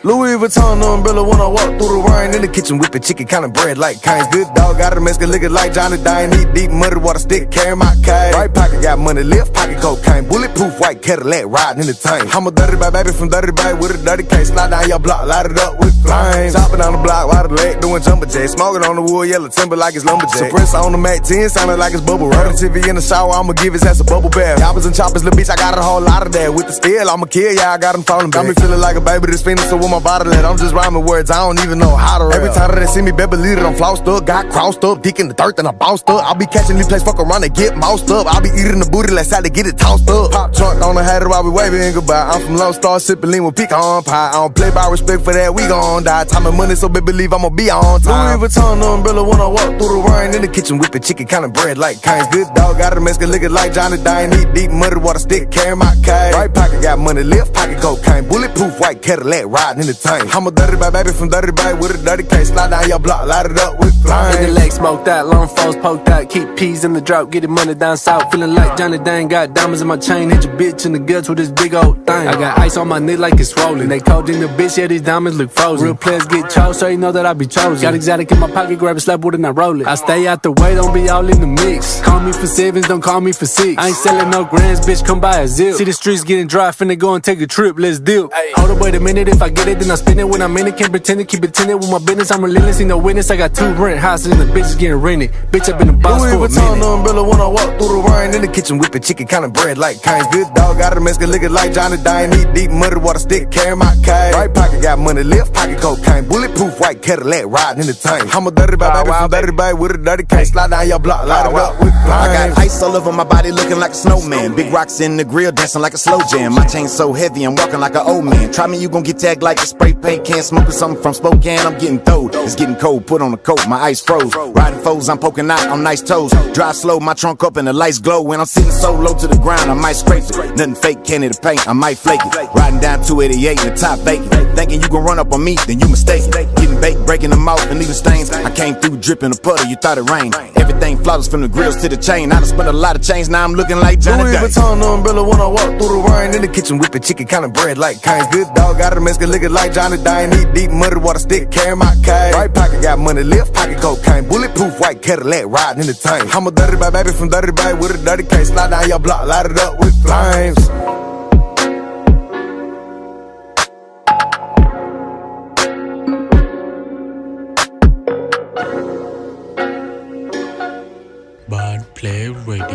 Louis Vuitton umbrella when I walk through the rain. In the kitchen whipping chicken, kinda bread like Cane's. Good dog, got a Mexican liquor like Johnny Dane. Eat deep muddy water stick, carry my cane. Right pocket got money, left pocket cocaine. Bulletproof white Cadillac riding in the tank. I'm a dirty bad baby from dirty bay with a dirty case. Slide down your block, light it up with flames. Chopping on the block, while the leg doing jumper jacks. Smoking on the wood, yellow timber like it's lumberjack. Suppressor on the Mac ten, sounding like it's bubble wrap. T V in the shower, I'ma give his ass a bubble bath. Choppers and choppers, little bitch, I got a whole lot of that. With the steel, I'ma kill ya, I got him falling back. Got me feeling like a baby that's fiending, so with my body let, I'm just rhyming words, I don't even know how to rap. Every time that they see me, better believe it, I'm flossed up. Got crossed up, dick in the dirt, then I bounced up. I'll be catching these plays, fuck around and get moused up. I'll be eating the booty, let's to get it tossed up. Pop trunk on the hat while we waving goodbye. I'm from Lone Star, sipping lean with pecan pie. I don't play by respect for that, we gon' die. Time and money, so baby believe I'ma be on time. Louis Vuitton umbrella when I walk through the rain. In the kitchen whipping chicken, kinda bread like Cane's. Good dog, got a Mexican liquor like Johnny Dane. Eat deep muddy water stick, carry my cane. Right pocket got money, left pocket cocaine. Bulletproof white Cadillac riding in the tank. I'm a dirty bad baby from dirty bay with a dirty case. Slide down your block, light it up with flames. Nigga leg smoked out, long foes poked out. Keep peas in the drought, get the money down south. Feeling like Johnny Dane, got diamonds in my chain. Hit your bitch in the guts with this big old thing. I got ice on my neck like it's rolling. They cold in the bitch, yeah, these diamonds look frozen. Real players get chose, so you know that I be chosen. Got exotic in my pocket, grab a slap with it and I roll it. I stay out the way, don't be all in the mix. Call me for sevens, don't call me for six. I ain't selling no grands, bitch, come buy a zip. See the streets getting dry, finna go and take a trip, let's deal. Hold up, wait a minute, if I get it, then I spin it. When I'm in it, can't pretend it, keep it tinted with my business. I'm relentless, ain't no witness. I got two rent houses and the bitch is getting rented. Bitch, I been a boss Louis for a Vuitton minute. umbrella when I walk through the rain. In the kitchen whipping chicken, kinda bread like Cane's. Good dog, got a Mexican liquor like Johnny Dane. Eat deep muddy water stick, carry my cane. Right pocket got money, left pocket cocaine. Bulletproof white Cadillac riding in the tank. I'm a dirty bad baby from dirty bay with a dirty case. Slide down your block, light it up with flames. I got ice all over my body looking like a snowman. Big rocks in the grill dancing like a slow jam. My chain so heavy I'm walking like an old man. Try me, you gon' get tagged like a spray paint can. Smoking something from Spokane, I'm getting throwed. It's getting cold, put on a coat, my ice froze. Riding foes, I'm poking out on nice toes. Drive slow, my trunk up and the lights glow. When I'm sitting so low to the ground, I might scrape it. Nothing fake, candy to paint, I might flake it. Riding down two eighty-eight in the top vacant. Thinking you gon' run up on me, then you mistaken. Getting baked, breaking them off and leaving stains. I came through dripping a puddle, you thought it rained. Everything flawless from the grills to the chain. I done spent a lot of change, now I'm looking like Johnny Louis Dane. Vuitton umbrella when I walk through the rain. In the kitchen whipping chicken, kinda bread like Cane's. Good dog, got a Mexican liquor like Johnny Dane. Eat deep muddy water stick, carry my cane. Right pocket got money, left pocket cocaine. Bulletproof white Cadillac riding in the tank. I'm a dirty bad baby from dirty bay with a dirty case. Slide down your block, light it up with flames. Bad Play Radio.